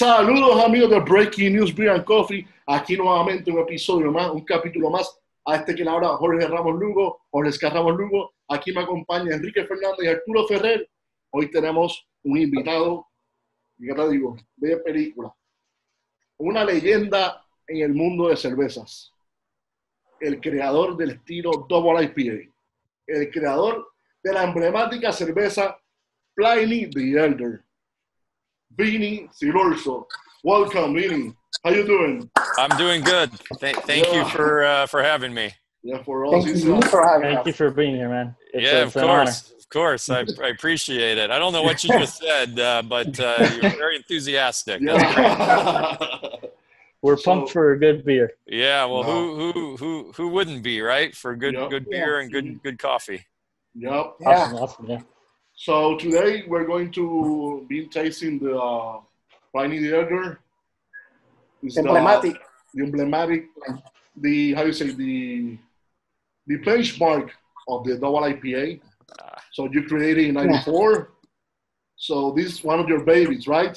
Saludos amigos de Breaking News Beer and Coffee, aquí nuevamente un episodio más, un capítulo más, a este que le habla Jorge Ramos Lugo, Jorge Ramos Lugo, aquí me acompaña Enrique Fernández y Arturo Ferrer. Hoy tenemos un invitado, ¿qué te digo?, de película, una leyenda en el mundo de cervezas, el creador del estilo Double IPA, el creador de la emblemática cerveza Pliny the Elder, Vinny Silorzo. Welcome, Vinny. How you doing? I'm doing good. Thank you for having me. Yeah, for us. Thank you for having us. Thank you for being here, man. Of course. I appreciate it. I don't know what you just said, but you're very enthusiastic. Yeah. We're pumped for a good beer. Yeah. Well, who wouldn't be, right? For good beer and good coffee. Yep. Yeah. Awesome. Yeah. So today we're going to be tasting the Pliny the Elder. It's emblematic. The emblematic, how you say, the benchmark of the double IPA. So you created in '94. So this is one of your babies, right?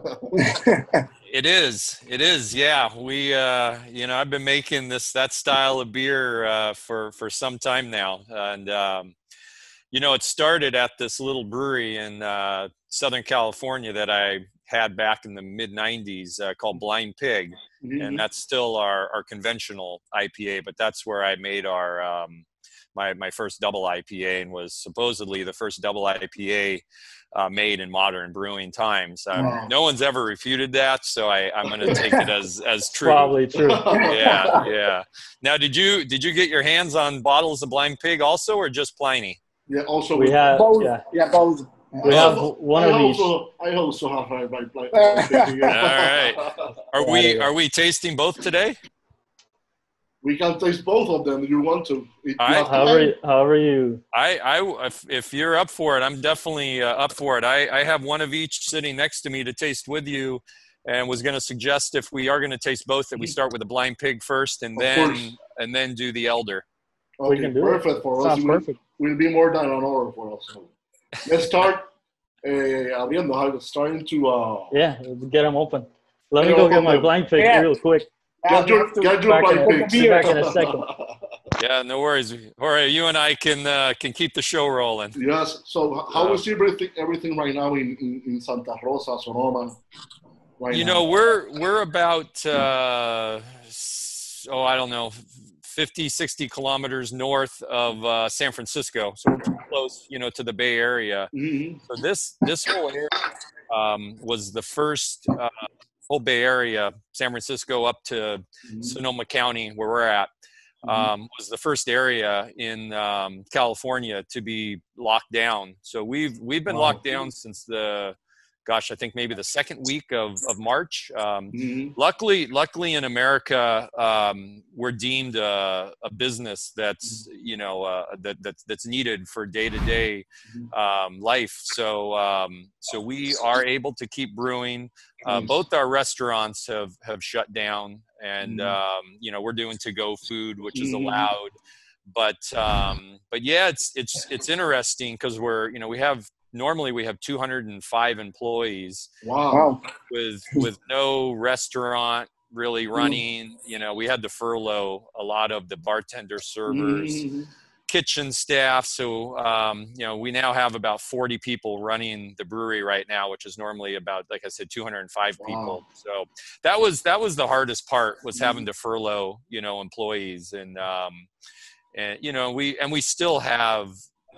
It is. Yeah. We, I've been making that style of beer for some time now, and it started at this little brewery in Southern California that I had back in the mid '90s called Blind Pig. Mm-hmm. And that's still our conventional IPA, but that's where I made our my first double IPA, and was supposedly the first double IPA made in modern brewing times. Wow. No one's ever refuted that, so I'm going to take it as true. Probably true. Yeah. Now, did you get your hands on bottles of Blind Pig also, or just Pliny? Yeah, also we have both. Yeah, both. We have one of each. I also have my Blind Pig. All right. Are we tasting both today? We can taste both of them if you want to. However you. If you're up for it, I'm definitely up for it. I have one of each sitting next to me to taste with you, and was going to suggest, if we are going to taste both, that we start with the Blind Pig first, and then do the Elder. Okay, we can do perfect it. For Sounds us. Perfect. Will be more than an hour for us. So let's start. Starting to. Get them open. Let me go get my Blind Pig real quick. Get your Blind Pig. Be back in a second. Yeah, no worries. Jorge, you and I can keep the show rolling. Yes. So how is everything right now in Santa Rosa, Sonoma? We're about I don't know, 50, 60 kilometers north of San Francisco, so we're close, to the Bay Area. Mm-hmm. So this whole area was the first whole Bay Area, San Francisco up to Sonoma County, where we're at, was the first area in California to be locked down. So we've been locked down since I think maybe the second week of March. Luckily in America, we're deemed a business that's that's needed for day-to-day life. So we are able to keep brewing. Both our restaurants have shut down, and we're doing to-go food, which is allowed. But yeah, it's interesting because Normally we have 205 employees. Wow. With no restaurant really running. We had to furlough a lot of the bartender, servers, kitchen staff. So, we now have about 40 people running the brewery right now, which is normally about, like I said, 205 people. So that was the hardest part, was having to furlough, employees. And we still have,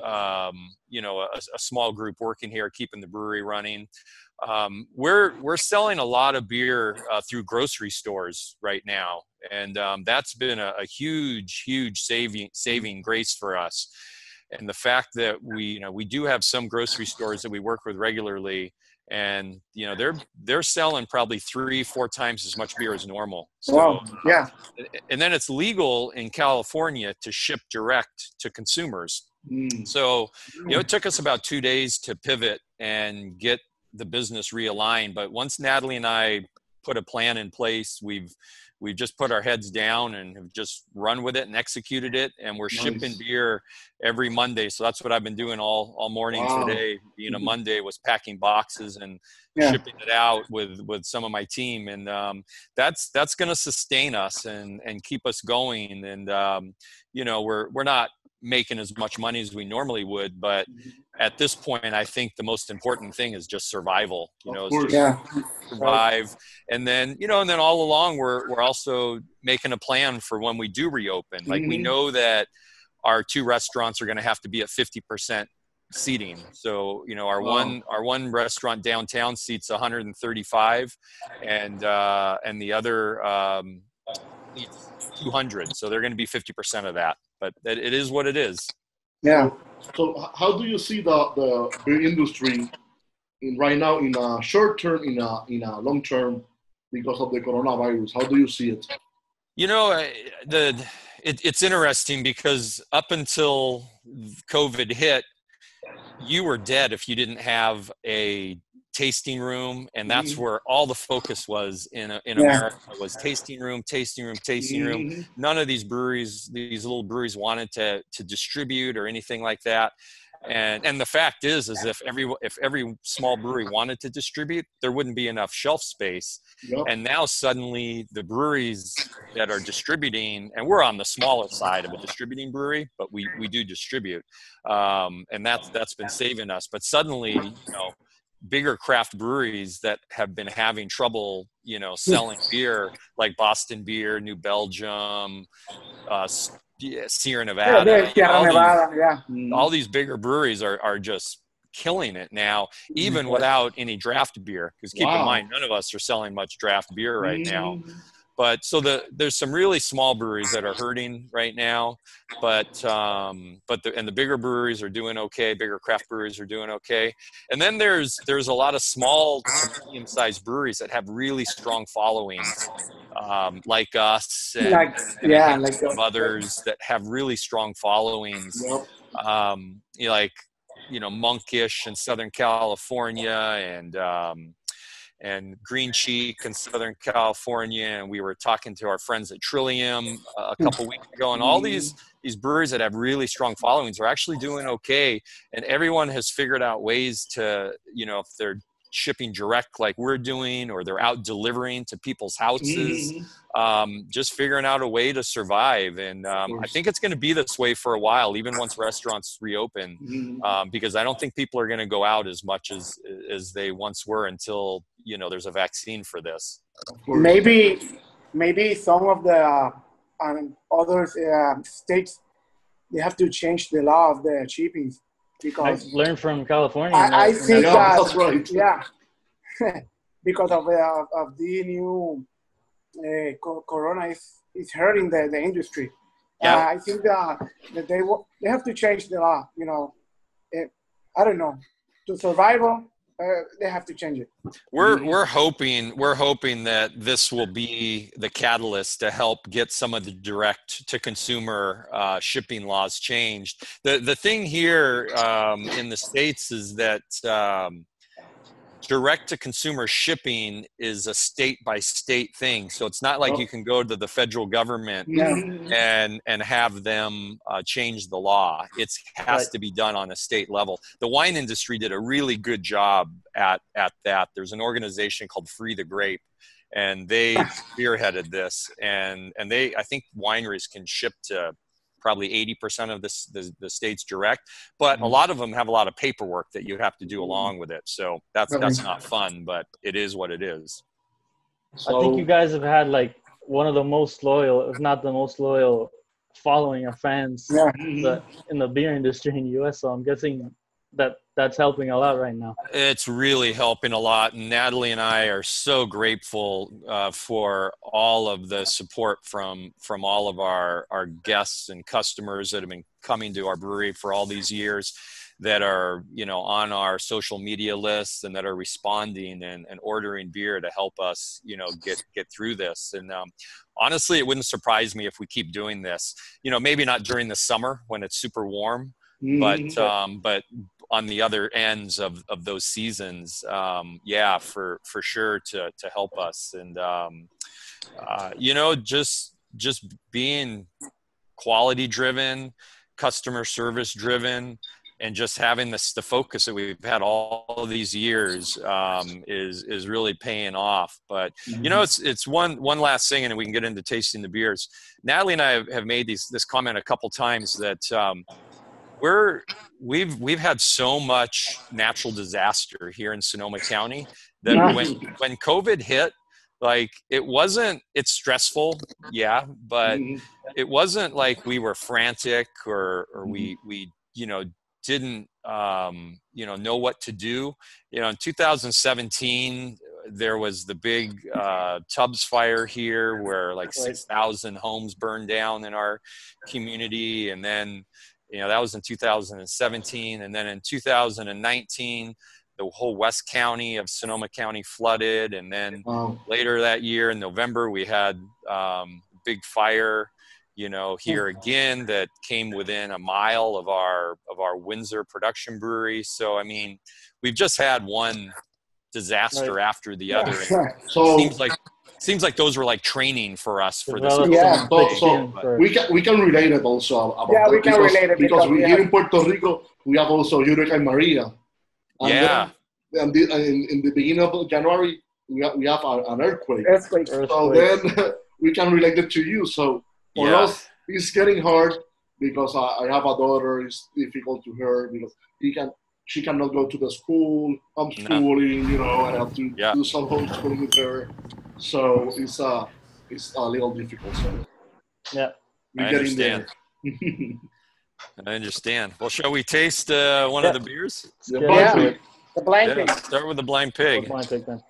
a small group working here, keeping the brewery running. We're selling a lot of beer through grocery stores right now, and that's been a huge saving grace for us. And the fact that we do have some grocery stores that we work with regularly, and they're selling probably 3-4 times as much beer as normal. So yeah. And then it's legal in California to ship direct to consumers. So, it took us about 2 days to pivot and get the business realigned. But once Natalie and I put a plan in place, we've we've just put our heads down and have just run with it and executed it. And we're shipping beer every Monday. So that's what I've been doing all morning today. Being a Monday, was packing boxes and shipping it out with some of my team. And that's going to sustain us and keep us going. And, you know, we're not making as much money as we normally would, but at this point, I think the most important thing is just survival, you know, survive. And then, you know, and then all along, we're also making a plan for when we do reopen. Like we know that our 2 restaurants are going to have to be at 50% seating. So, you know, our one restaurant downtown seats 135 and the other, seats 200. So they're going to be 50% of that, but it is what it is. Yeah. So how do you see the beer industry right now in a short term, in a long term, because of the coronavirus? How do you see it? You know, it's interesting because up until COVID hit, you were dead if you didn't have a tasting room, and that's where all the focus was in America, was tasting room. None of these little breweries wanted to distribute or anything like that. And the fact is if every small brewery wanted to distribute, there wouldn't be enough shelf space. And now suddenly the breweries that are distributing, and we're on the smaller side of a distributing brewery, but we do distribute, and that's been saving us. But suddenly, you know, bigger craft breweries that have been having trouble, you know, selling beer, like Boston Beer, New Belgium, Sierra Nevada, all these bigger breweries are just killing it now, even without any draft beer. Because keep in mind, none of us are selling much draft beer right now. But so there's some really small breweries that are hurting right now, but the bigger breweries are doing okay. Bigger craft breweries are doing okay. And then there's a lot of small to medium-sized breweries that have really strong followings, like us and of others that have really strong followings. Like, you know, Monkish in Southern California and Green Cheek in Southern California, and we were talking to our friends at Trillium a couple weeks ago, and all these breweries that have really strong followings are actually doing okay, and everyone has figured out ways to, you know, if they're shipping direct like we're doing, or they're out delivering to people's houses, just figuring out a way to survive. And I think it's going to be this way for a while, even once restaurants reopen, because I don't think people are going to go out as much as they once were until, you know, there's a vaccine for this. Maybe some of the other states, they have to change the law of the shipping. Because I learned from California. I think that's right. Yeah, because of the new corona is hurting the industry. I think that they have to change the law. You know, I don't know, to survival. They have to change it. We're hoping that this will be the catalyst to help get some of the direct to consumer shipping laws changed. The thing here in the States is that direct to consumer shipping is a state by state thing. So it's not like you can go to the federal government and have them change the law. It has to be done on a state level. The wine industry did a really good job at that. There's an organization called Free the Grape, and they spearheaded this. And I think wineries can ship to probably 80% of the states direct, but a lot of them have a lot of paperwork that you have to do along with it. So that's not fun, but it is what it is. So, I think you guys have had like one of the most loyal, if not the most loyal, following of fans in the beer industry in the US. So I'm guessing that's helping a lot right now. It's really helping a lot. And Natalie and I are so grateful for all of the support from all of our guests and customers that have been coming to our brewery for all these years, that are, you know, on our social media lists and that are responding and ordering beer to help us, you know, get through this. And honestly, it wouldn't surprise me if we keep doing this, you know, maybe not during the summer when it's super warm, but on the other ends of those seasons, for sure to help us. And Just being quality driven, customer service driven, and just having the focus that we've had all of these years is really paying off. But it's one last thing, and we can get into tasting the beers. Natalie and I have made this comment a couple times that we've had so much natural disaster here in Sonoma County that when COVID hit, like it's stressful, yeah, but it wasn't like we were frantic or we didn't know what to do. In 2017 there was the big Tubbs fire here where like 6,000 homes burned down in our community, and then that was in 2017, and then in 2019 the whole West County of Sonoma County flooded, and then later that year in November we had big fire here again that came within a mile of our Windsor production brewery. So I mean, we've just had one disaster after the other. So seems like those were like training for us for this. Yeah, so we can relate it also about we can relate it because we here in Puerto Rico we have also Hurricane Maria. And then, in the beginning of January we have an earthquake. So then we can relate it to you. So for us, it's getting hard because I have a daughter. It's difficult to her because she cannot go to the school. I'm schooling, I have to do some homeschooling with her. So it's a little difficult. So I understand. I understand. Well, shall we taste one of the beers? The Blind Pig. Start with the Blind Pig. Blind Pig then.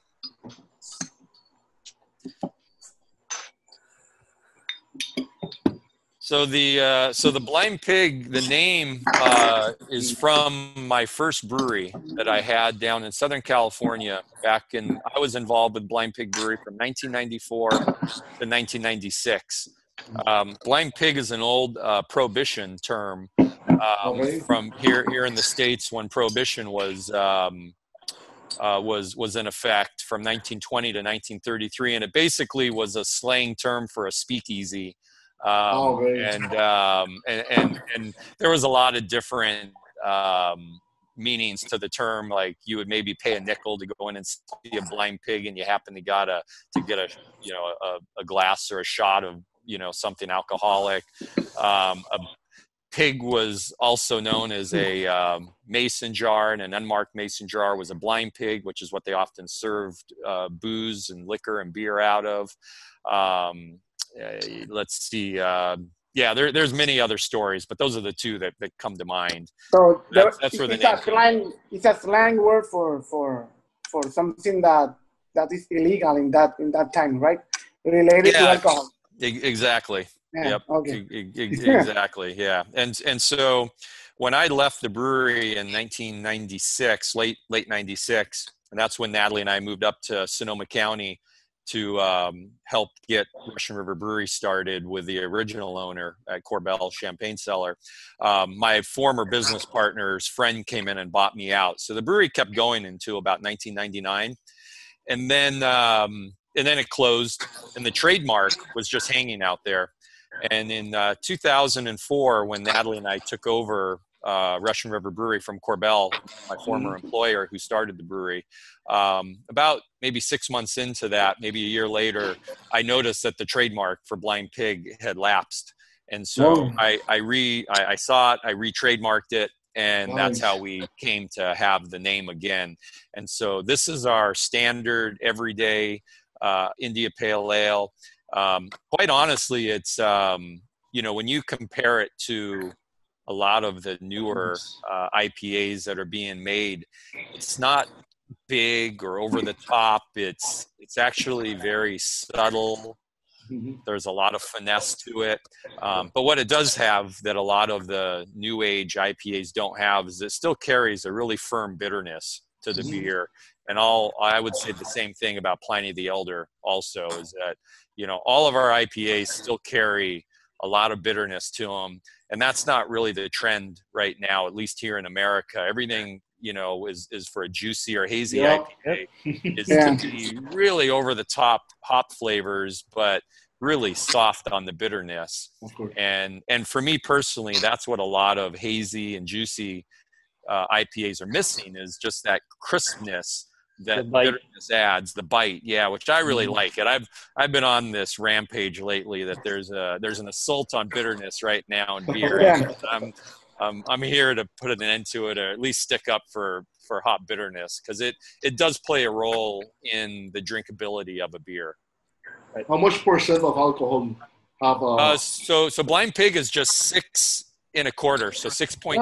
So the Blind Pig, the name is from my first brewery that I had down in Southern California I was involved with Blind Pig Brewery from 1994 to 1996. Blind Pig is an old prohibition term from here in the States when prohibition was in effect from 1920 to 1933, and it basically was a slang term for a speakeasy. And there was a lot of different meanings to the term. Like you would maybe pay a nickel to go in and see a blind pig, and you happen to get a glass or a shot of something alcoholic. A pig was also known as a mason jar, and an unmarked mason jar was a blind pig, which is what they often served booze and liquor and beer out of. Let's see. There's many other stories, but those are the two that come to mind. So that's where the name. It's a slang word for something that is illegal in that time, right? Related to alcohol. Exactly. Yeah, yep. Okay. Exactly. Yeah. And so when I left the brewery in 1996, late 96, and that's when Natalie and I moved up to Sonoma County to help get Russian River Brewery started with the original owner at Corbel Champagne Cellar. My former business partner's friend came in and bought me out. So the brewery kept going until about 1999. And then it closed, and the trademark was just hanging out there. And in 2004, when Natalie and I took over Russian River Brewery from Corbel, my former employer who started the brewery, about maybe 6 months into that, maybe a year later, I noticed that the trademark for Blind Pig had lapsed. And so I saw it, I re-trademarked it, and that's how we came to have the name again. And so this is our standard everyday India Pale Ale. Quite honestly, it's, when you compare it to a lot of the newer IPAs that are being made, it's not big or over the top. It's actually very subtle. There's a lot of finesse to it. But what it does have that a lot of the new age IPAs don't have is it still carries a really firm bitterness to the beer. And I would say the same thing about Pliny the Elder also, is that, all of our IPAs still carry a lot of bitterness to them. And that's not really the trend right now, at least here in America. Everything, is for a juicy or hazy IPA is to be really over the top hop flavors, but really soft on the bitterness. And for me personally, that's what a lot of hazy and juicy IPAs are missing, is just that crispness that bitterness adds, the bite. Yeah, which I really like it. I've been on this rampage lately that there's an assault on bitterness right now in beer. I'm here to put an end to it, or at least stick up for hop bitterness, because it does play a role in the drinkability of a beer. How much percent of alcohol have? So Blind Pig is just 6 1/4, so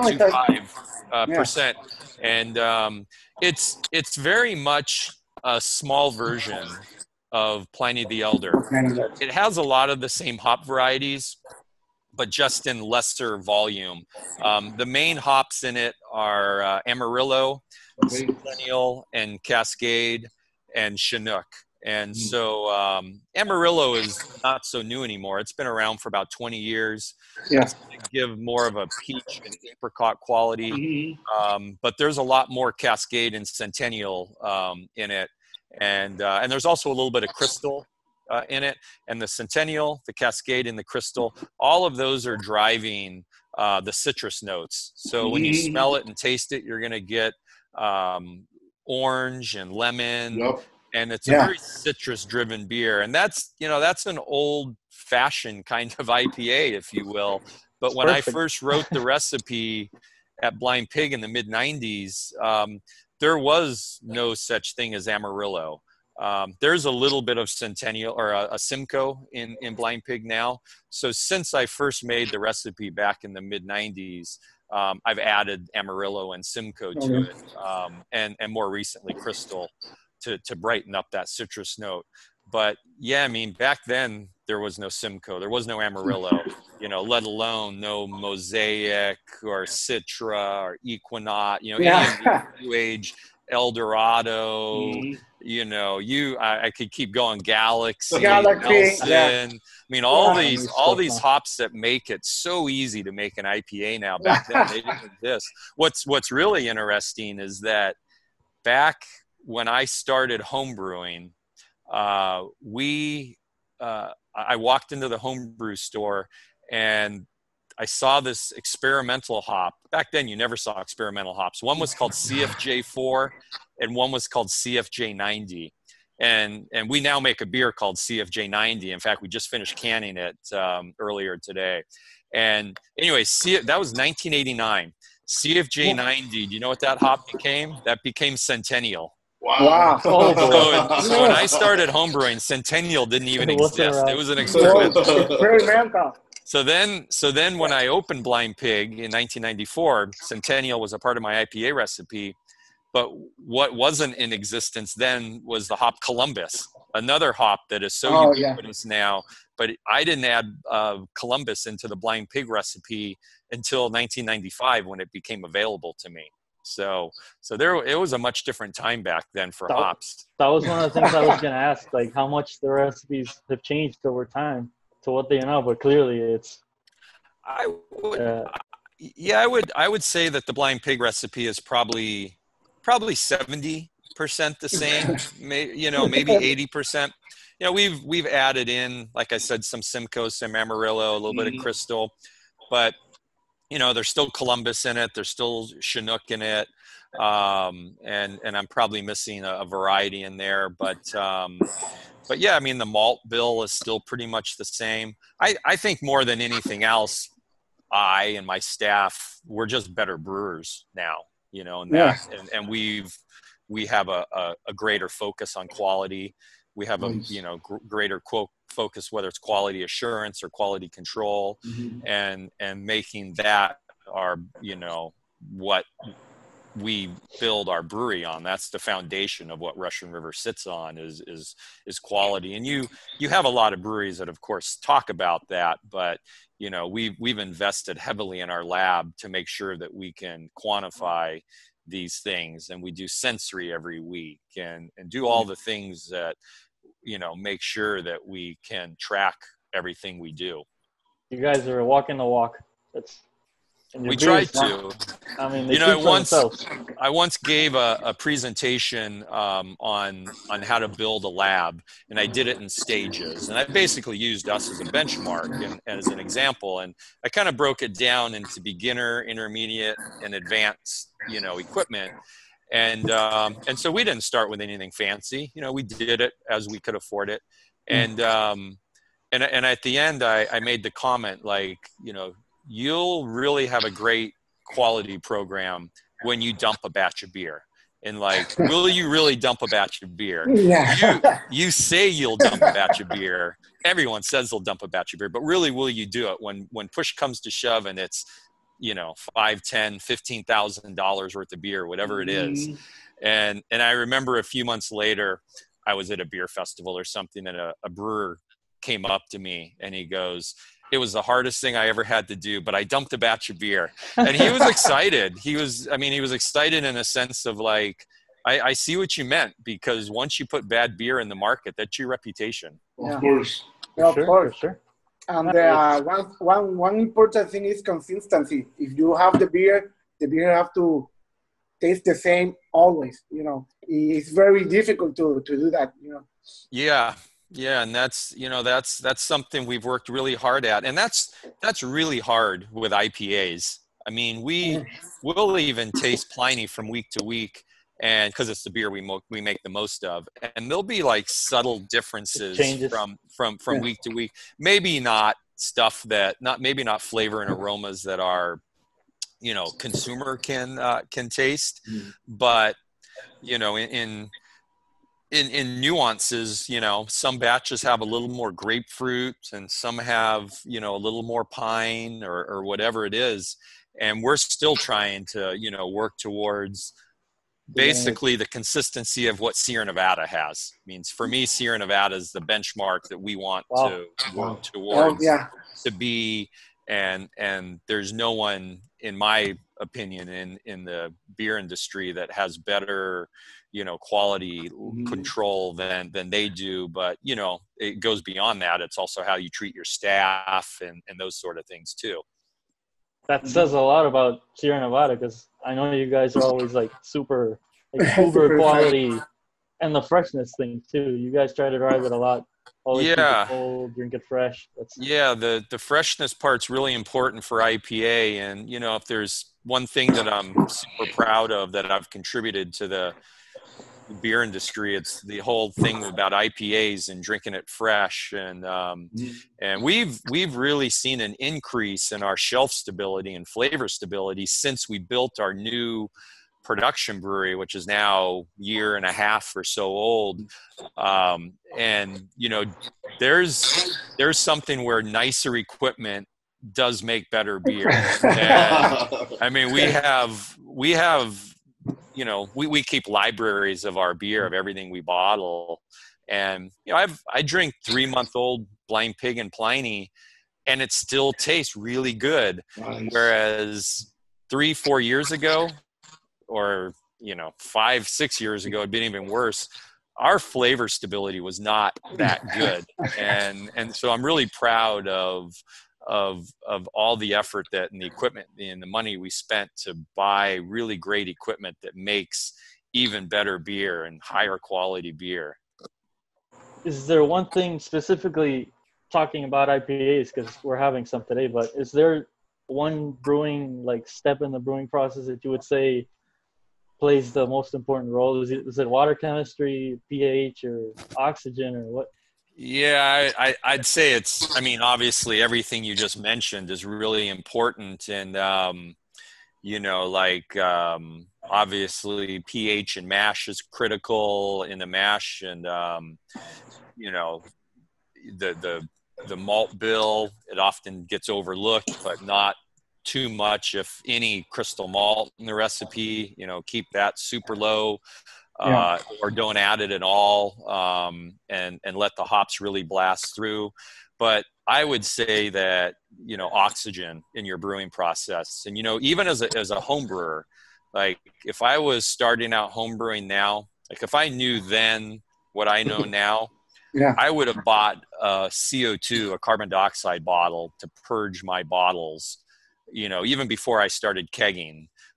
6.25%, and it's very much a small version of Pliny the Elder. It has a lot of the same hop varieties, but just in lesser volume. The main hops in it are Amarillo, Centennial, and Cascade, and Chinook. And so Amarillo is not so new anymore. It's been around for about 20 years. It's going to give more of a peach and apricot quality. But there's a lot more Cascade and Centennial in it. And there's also a little bit of Crystal in it. And the Centennial, the Cascade, and the Crystal, all of those are driving the citrus notes. So when you smell it and taste it, you're going to get orange and lemon. And it's a very citrus-driven beer, and that's an old-fashioned kind of IPA, if you will. But when I first wrote the recipe at Blind Pig in the mid-'90s, there was no such thing as Amarillo. There's a little bit of Centennial or a Simcoe in Blind Pig now. So since I first made the recipe back in the mid-'90s, I've added Amarillo and Simcoe to it, and more recently Crystal, to brighten up that citrus note. But yeah, I mean, back then there was no Simcoe, there was no Amarillo, let alone no Mosaic or Citra or Equinox, any of the New Age Eldorado, I could keep going, Galaxy, Nelson. I mean, all these hops that make it so easy to make an IPA now. Back then they didn't exist. What's really interesting is that back when I started homebrewing, I walked into the homebrew store and I saw this experimental hop. Back then, you never saw experimental hops. One was called CFJ4 and one was called CFJ90. And we now make a beer called CFJ90. In fact, we just finished canning it earlier today. And anyway, that was 1989. CFJ90, do you know what that hop became? That became Centennial. Wow. So when I started homebrewing, Centennial didn't even exist. It was an experiment. So then when I opened Blind Pig in 1994, Centennial was a part of my IPA recipe. But what wasn't in existence then was the hop Columbus, another hop that is so ubiquitous now. But I didn't add Columbus into the Blind Pig recipe until 1995 when it became available to me. So it was a much different time back then for hops. That was one of the things I was going to ask, like how much the recipes have changed over time to what they are now. But clearly, it's. I would say that the Blind Pig recipe is probably 70% the same. maybe 80%. We've added in, like I said, some Simcoe, some Amarillo, a little bit of Crystal, but. There's still Columbus in it. There's still Chinook in it. And I'm probably missing a variety in there. But yeah, I mean, the malt bill is still pretty much the same. I think more than anything else, I and my staff, we're just better brewers now, and we have a greater focus on quality. We have a greater focus, whether it's quality assurance or quality control, and making that our what we build our brewery on. That's the foundation of what Russian River sits on is quality. And you have a lot of breweries that of course talk about that, but we've invested heavily in our lab to make sure that we can quantify these things, and we do sensory every week and do all the things that make sure that we can track everything we do. You guys are walking the walk. We try to. I mean, they speak for themselves. I once gave a presentation on how to build a lab, and I did it in stages. And I basically used us as a benchmark and as an example. And I kind of broke it down into beginner, intermediate, and advanced, equipment. And so we didn't start with anything fancy. We did it as we could afford it. And at the end, I made the comment like, you'll really have a great quality program when you dump a batch of beer. And like, will you really dump a batch of beer? Yeah. You say you'll dump a batch of beer. Everyone says they'll dump a batch of beer, but really, will you do it when push comes to shove and it's, $5, $10, $15,000 worth of beer, whatever it is. And I remember a few months later, I was at a beer festival or something, and a brewer came up to me and he goes, "It was the hardest thing I ever had to do, but I dumped a batch of beer." And he was excited. He was excited in a sense of like, I see what you meant, because once you put bad beer in the market, that's your reputation. Of course. Yeah, of course. Sure. And one important thing is consistency. If you have the beer have to taste the same always. It's very difficult to do that. Yeah, and that's something we've worked really hard at, and that's really hard with IPAs. I mean, we'll even taste Pliny from week to week, and because it's the beer we make the most of, and there'll be like subtle differences from week to week. Maybe not stuff that maybe not flavor and aromas that are consumer can taste, but in nuances, some batches have a little more grapefruit and some have a little more pine or whatever it is, and we're still trying to work towards basically the consistency of what Sierra Nevada has. Means for me, Sierra Nevada is the benchmark that we want to work towards to be, and there's no one, in my opinion, in the beer industry that has better quality control than they do. But it goes beyond that. It's also how you treat your staff and those sort of things too. That says a lot about Sierra Nevada, because I know you guys are always like super uber quality, and the freshness thing too. You guys try to drive it a lot. Always keep it cold, drink it fresh. The freshness part's really important for IPA. And if there's one thing that I'm super proud of that I've contributed to the beer industry, it's the whole thing about IPAs and drinking it fresh. And we've really seen an increase in our shelf stability and flavor stability since we built our new production brewery, which is now a year and a half or so old. And there's something where nicer equipment does make better beer. And, I mean, we keep libraries of our beer, of everything we bottle. And, I drink 3-month-old Blind Pig and Pliny, and it still tastes really good. Nice. Whereas 3-4 years ago, or 5-6 years ago, it'd been even worse. Our flavor stability was not that good. And so I'm really proud of all the effort and the equipment and the money we spent to buy really great equipment that makes even better beer and higher quality beer. Is there one thing specifically, talking about IPAs, because we're having some today, but is there one brewing step in the brewing process that you would say plays the most important role? Is it water chemistry, pH, or oxygen, or what? Yeah, I'd say it's, obviously everything you just mentioned is really important. And, obviously pH and mash is critical in the mash. And, the malt bill, it often gets overlooked, but not too much. If any crystal malt in the recipe, keep that super low. Or don't add it at all, and let the hops really blast through. But I would say that, oxygen in your brewing process, and, even as a home brewer, if I was starting out home brewing now, if I knew then what I know now, I would have bought a CO2, a carbon dioxide bottle, to purge my bottles, even before I started kegging.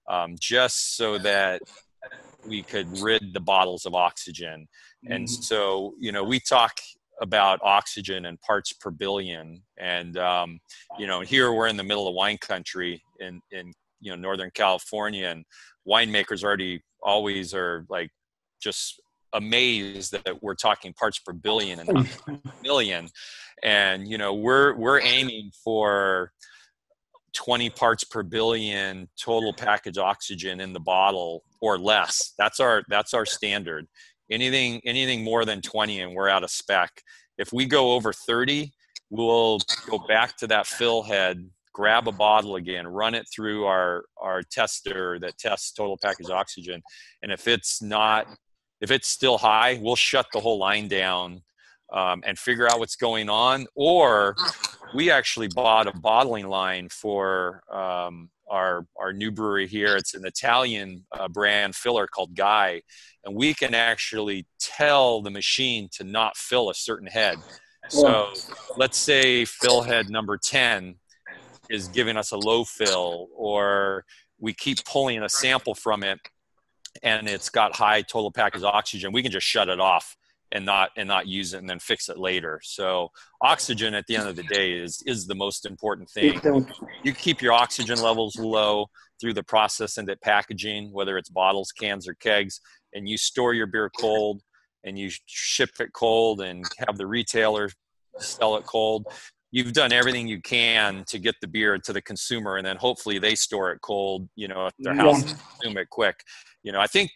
just so that we could rid the bottles of oxygen. And so, you know, we talk about oxygen and parts per billion. And, you know, here we're in the middle of wine country in you know, Northern California, and winemakers always are like just amazed that we're talking parts per billion and not million. And, you know, we're aiming for 20 parts per billion total package oxygen in the bottle or less. That's our standard. Anything more than 20 and we're out of spec. If we go over 30, we'll go back to that fill head, grab a bottle again, run it through our tester that tests total package oxygen. And if it's still high, we'll shut the whole line down and figure out what's going on. Or we actually bought a bottling line for our new brewery here. It's an Italian brand filler called Guy, and we can actually tell the machine to not fill a certain head. So let's say fill head number 10 is giving us a low fill, or we keep pulling a sample from it and it's got high total package oxygen, we can just shut it off and not use it and then fix it later. So oxygen at the end of the day is the most important thing. You keep your oxygen levels low through the process and the packaging, whether it's bottles, cans, or kegs, and you store your beer cold and you ship it cold and have the retailer sell it cold. You've done everything you can to get the beer to the consumer, and then hopefully they store it cold, you know, at their house and consume it quick. You know, I think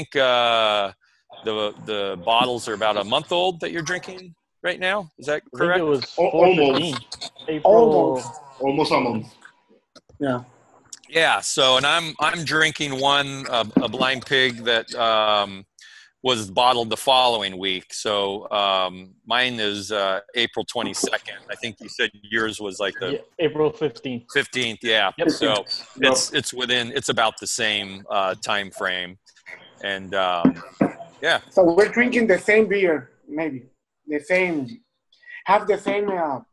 the bottles are about a month old that you're drinking right now. Is that correct? I think it was 415. Almost a month. Yeah. Yeah. So, and I'm drinking one, a Blind Pig that was bottled the following week. So mine is April 22nd. I think you said yours was like April 15th. 15th. Yeah. Yep. So it's about the same time frame. And yeah. So we're drinking the same beer, maybe have the same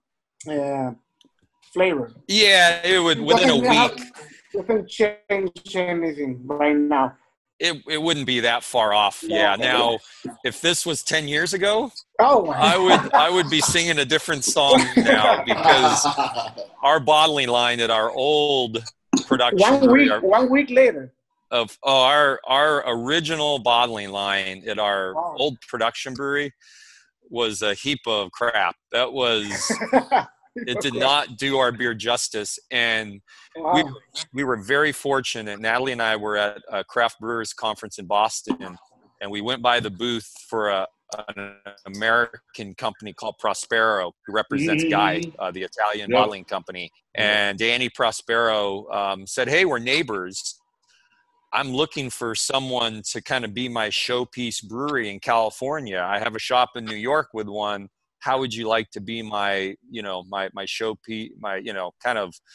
flavor. Yeah, it would within a week. Doesn't change anything right now. It wouldn't be that far off. Yeah. Now, if this was 10 years ago, I would be singing a different song now, because our bottling line at our old production one week later. Our original bottling line at our old production brewery was a heap of crap. That was it did not do our beer justice, and we were very fortunate. Natalie and I were at a craft brewers conference in Boston, and we went by the booth for an American company called Prospero, who represents Guy, the Italian bottling company. And Danny Prospero said, "Hey, we're neighbors. I'm looking for someone to kind of be my showpiece brewery in California. I have a shop in New York with one. How would you like to be my showpiece, kind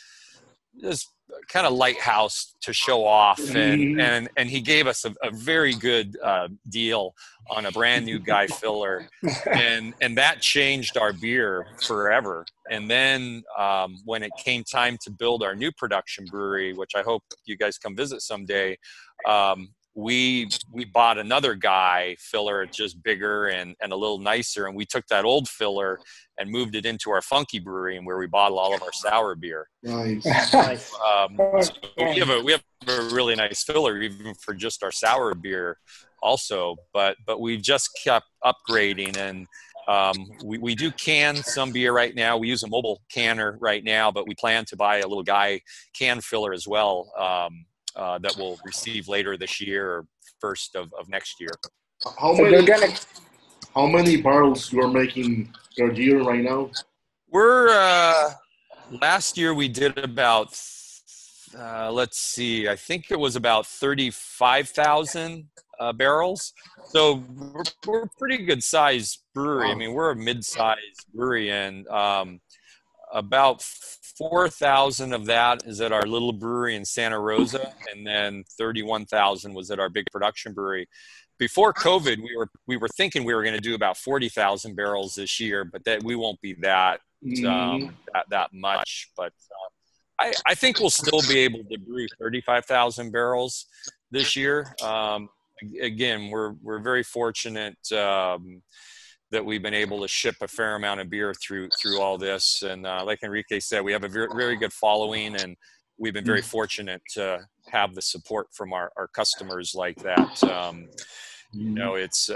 of lighthouse to show off?" And he gave us a very good deal on a brand new Guy filler, and that changed our beer forever. And then when it came time to build our new production brewery, which I hope you guys come visit someday, we bought another Guy filler, just bigger and a little nicer, and we took that old filler and moved it into our Funky Brewery, and where we bottle all of our sour beer. Nice. So we have a really nice filler even for just our sour beer also, but we've just kept upgrading, and we do can some beer right now. We use a mobile canner right now, but we plan to buy a little Guy can filler as well, that we'll receive later this year or first of next year. How many barrels you are making per year right now? We're last year we did about let's see, I think it was about 35,000 barrels. So we're a pretty good sized brewery. I mean, we're a mid-sized brewery, and about 4,000 of that is at our little brewery in Santa Rosa, and then 31,000 was at our big production brewery. Before COVID, we were thinking we were going to do about 40,000 barrels this year, but that we won't be that much. But I think we'll still be able to brew 35,000 barrels this year. Again, we're very fortunate that we've been able to ship a fair amount of beer through all this. And like Enrique said, we have a very, very good following, and we've been very fortunate to have the support from our customers like that. You know, it's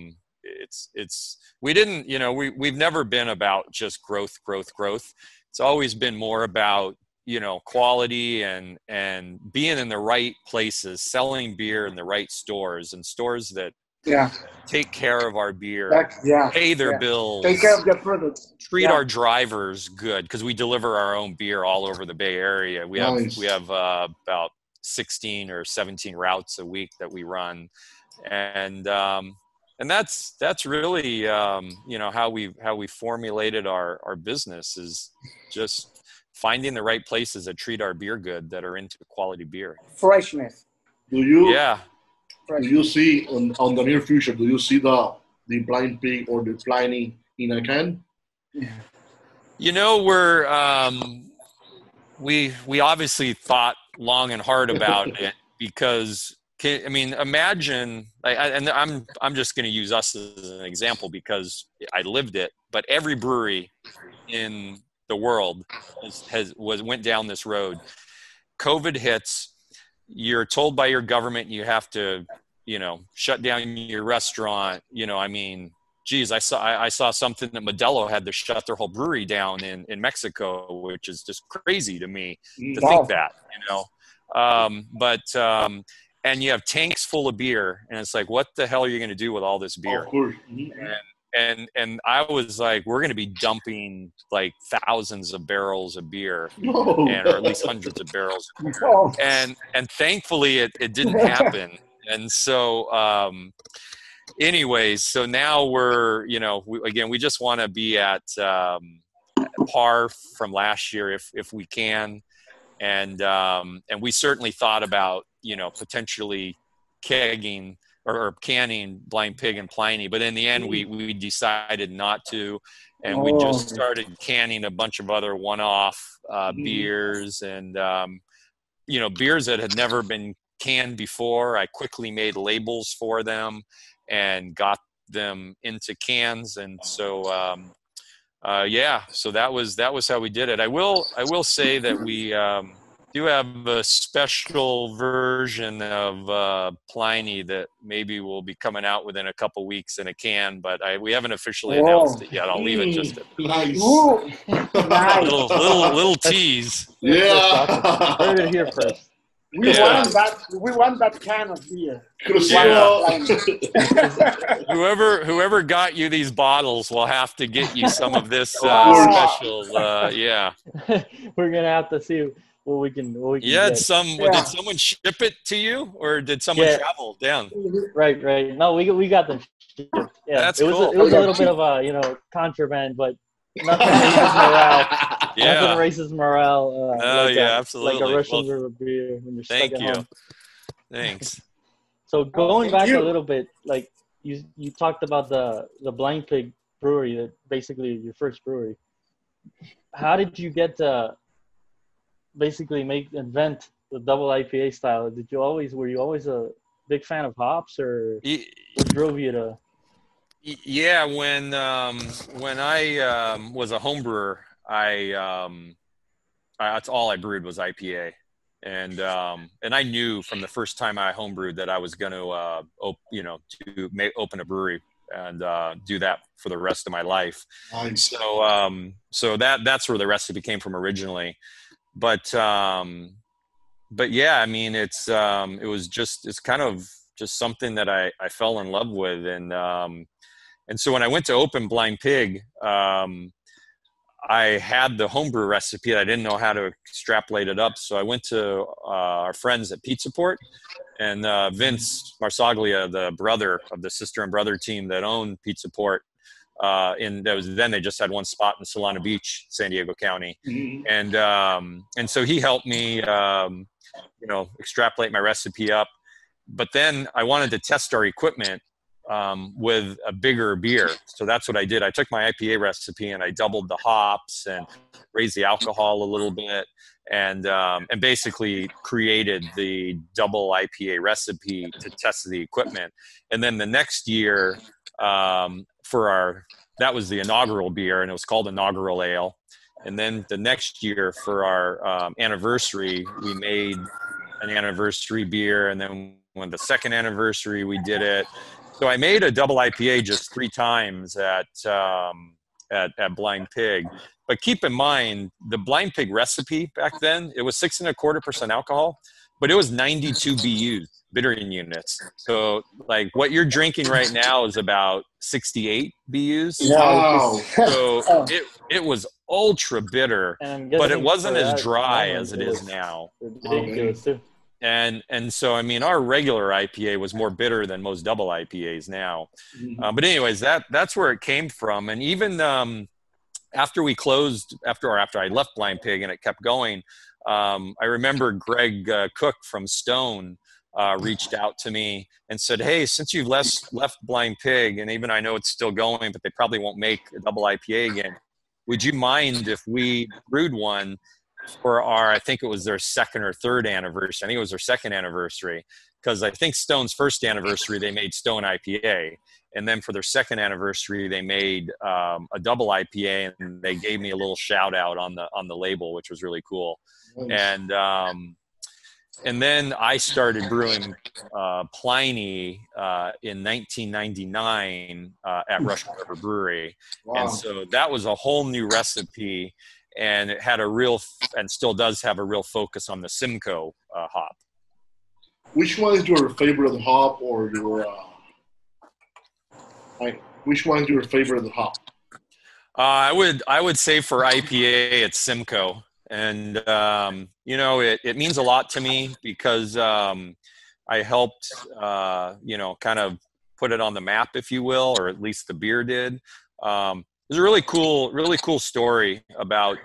we didn't, you know, we've never been about just growth. It's always been more about, you know, quality and being in the right places, selling beer in the right stores, and stores that take care of our beer, pay their bills, take care of their products, treat our drivers good, because we deliver our own beer all over the Bay Area. We have about 16 or 17 routes a week that we run, and that's really you know, how we formulated our business, is just finding the right places that treat our beer good, that are into quality beer. Freshness. Do you see on the near future, do you see the Blind Pig or the Pliny in a can? You know, we obviously thought long and hard about it, because I mean, imagine, and I'm just going to use us as an example because I lived it, but every brewery in the world went down this road. COVID hits, you're told by your government you have to, you know, shut down your restaurant. You know, I mean, geez, I saw something that Modelo had to shut their whole brewery down in Mexico, which is just crazy to me to think that, you know. And you have tanks full of beer, and it's like, what the hell are you going to do with all this beer? Of course. And I was like, we're going to be dumping like thousands of barrels of beer, or at least hundreds of barrels. And thankfully it didn't happen. And so, anyways, so now we're, you know, we just want to be at par from last year if we can. And we certainly thought about, you know, potentially kegging or canning Blind Pig and Pliny, but in the end we decided not to, and we just started canning a bunch of other one-off beers, and you know, beers that had never been canned before. I quickly made labels for them and got them into cans, and so so that was how we did it. I will say that we do have a special version of Pliny that maybe will be coming out within a couple weeks in a can, but we haven't officially announced it yet. I'll leave it just at nice. little tease. Yeah. Heard it here first. We want that can of beer. Whoever got you these bottles will have to get you some of this special. We're gonna have to see what we can get. Did someone ship it to you, or did someone travel down? Right. No, we got them shipped. Yeah, that's cool. It was a little bit of a contraband, but nothing raises morale. Nothing raises morale. Absolutely. Like a Russian river beer when you're stuck at home. Thanks. So going back a little bit, like you talked about the Blind Pig brewery, that basically your first brewery. How did you get to basically invent the double IPA style? Were you always a big fan of hops, or what drove you to? Yeah, when I was a home brewer, that's all I brewed was IPA, and I knew from the first time I homebrewed that I was going to open a brewery and do that for the rest of my life. Nice. So that's where the recipe came from originally, but yeah, I mean, it's kind of just something that I fell in love with, and so when I went to open Blind Pig, I had the homebrew recipe. I didn't know how to extrapolate it up, so I went to our friends at Pizza Port, and Vince Marsaglia, the brother of the sister and brother team that owned Pizza Port, then they just had one spot in Solana Beach, San Diego County, and so he helped me, extrapolate my recipe up. But then I wanted to test our equipment with a bigger beer. So that's what I did. I took my IPA recipe and I doubled the hops and raised the alcohol a little bit. and basically created the double IPA recipe to test the equipment. And then the next year, that was the inaugural beer, and it was called Inaugural Ale. And then the next year for our anniversary, we made an anniversary beer. And then when the second anniversary, we did it. So I made a double IPA just 3 times at Blind Pig. But keep in mind, the Blind Pig recipe back then, it was 6.25% alcohol, but it was 92 BUs, bittering units. So like what you're drinking right now is about 68 BUs. Wow. So it was ultra bitter, but it wasn't as dry as it is now. Ridiculous too. And so, I mean, our regular IPA was more bitter than most double IPAs now. But anyways, that's where it came from. And even after we closed, after I left Blind Pig and it kept going, I remember Greg Cook from Stone reached out to me and said, hey, since you've left Blind Pig, and even I know it's still going, but they probably won't make a double IPA again, would you mind if we brewed one for I think it was their second or third anniversary. I think it was their second anniversary, because I think Stone's first anniversary, they made Stone IPA. And then for their second anniversary, they made a double IPA, and they gave me a little shout out on the label, which was really cool. Nice. And then I started brewing Pliny in 1999 at Russian River Brewery. Wow. And so that was a whole new recipe, and it had and still does have a real focus on the Simcoe hop. Which one is your favorite hop, or your which one is your favorite hop? I would say for IPA, it's Simcoe. And, it means a lot to me because I helped, kind of put it on the map, if you will, or at least the beer did. There's a really cool story about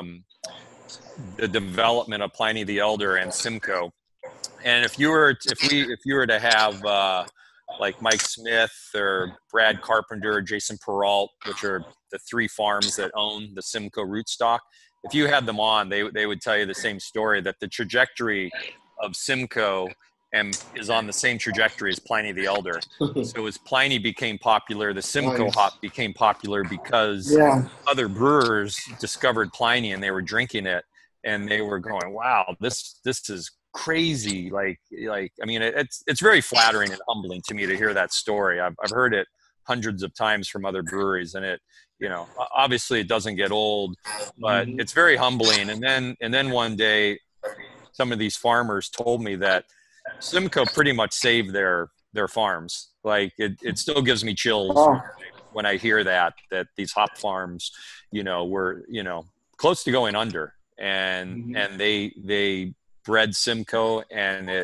the development of Pliny the Elder and Simcoe. And if you were to have like Mike Smith or Brad Carpenter or Jason Peralt, which are the 3 farms that own the Simcoe rootstock, if you had them on, they would tell you the same story, that the trajectory of Simcoe is on the same trajectory as Pliny the Elder. So as Pliny became popular, the Simcoe hop became popular because other brewers discovered Pliny and they were drinking it and they were going, wow, this is crazy. Like, I mean, it's very flattering and humbling to me to hear that story. I've heard it hundreds of times from other breweries, and it, obviously it doesn't get old, but it's very humbling. And then one day, some of these farmers told me that Simcoe pretty much saved their farms. Like it still gives me chills when I hear that these hop farms, were, close to going under, and they bred Simcoe, and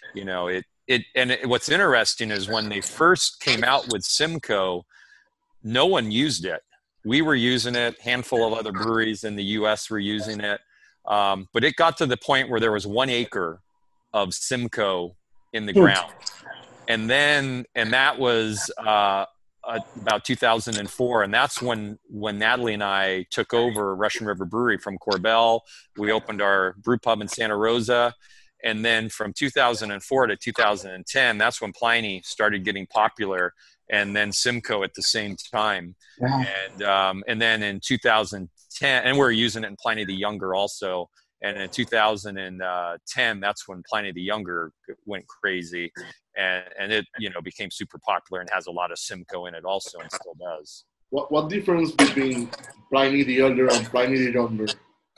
what's interesting is when they first came out with Simcoe, no one used it. We were using it. Handful of other breweries in the U.S. were using it. But it got to the point where there was 1 acre of Simcoe in the ground. And that was about 2004. And that's when Natalie and I took over Russian River Brewery from Corbel. We opened our brew pub in Santa Rosa. And then from 2004 to 2010, that's when Pliny started getting popular, and then Simcoe at the same time. Yeah. And then in 2010, and we're using it in Pliny the Younger also. And in 2010, that's when Pliny the Younger went crazy, and it became super popular and has a lot of Simcoe in it also, and still does. What difference between Pliny the Elder and Pliny the Younger?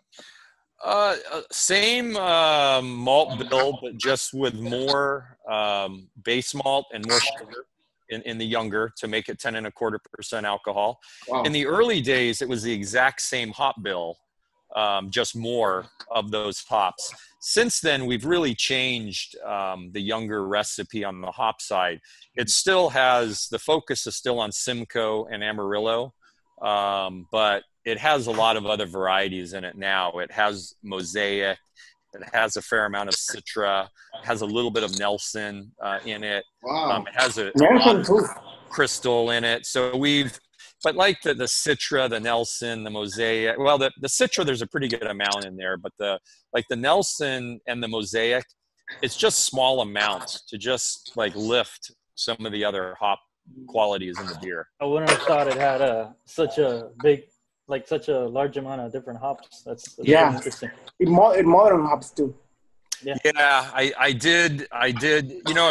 Same malt bill, but just with more base malt and more sugar in the Younger to make it 10.25% alcohol. Wow. In the early days, it was the exact same hop bill, just more of those hops. Since then, we've really changed the Younger recipe on the hop side. It still has, the focus is still on Simcoe and Amarillo, but it has a lot of other varieties in it now. It has Mosaic. It has a fair amount of Citra. It has a little bit of Nelson in it. Wow. It has a lot of Crystal in it. So we've but like the Citra, the Nelson, the Mosaic, well, the Citra, there's a pretty good amount in there, but the Nelson and the Mosaic, it's just small amounts to just like lift some of the other hop qualities in the beer. I wouldn't have thought it had such a big, like such a large amount of different hops. That's yeah, interesting. In modern hops too. Yeah, I did. You know,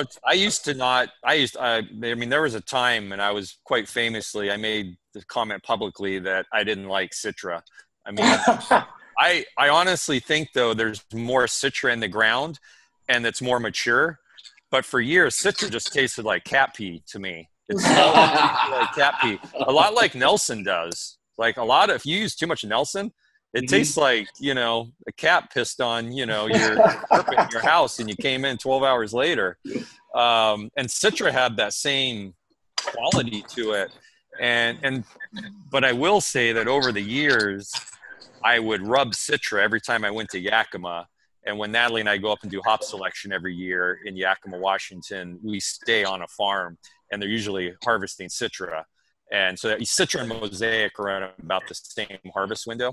I mean, there was a time, and I was quite famously, I made the comment publicly that I didn't like Citra. I mean, I honestly think though there's more Citra in the ground, and it's more mature. But for years, Citra just tasted like cat pee to me. It's like cat pee, a lot like Nelson does. Like if you use too much Nelson, it tastes like, you know, a cat pissed on, you know, your carpet in your house, and you came in 12 hours later. And Citra had that same quality to it. But I will say that over the years, I would rub Citra every time I went to Yakima. And when Natalie and I go up and do hop selection every year in Yakima, Washington, we stay on a farm, and they're usually harvesting Citra. And so Citra and Mosaic are at about the same harvest window.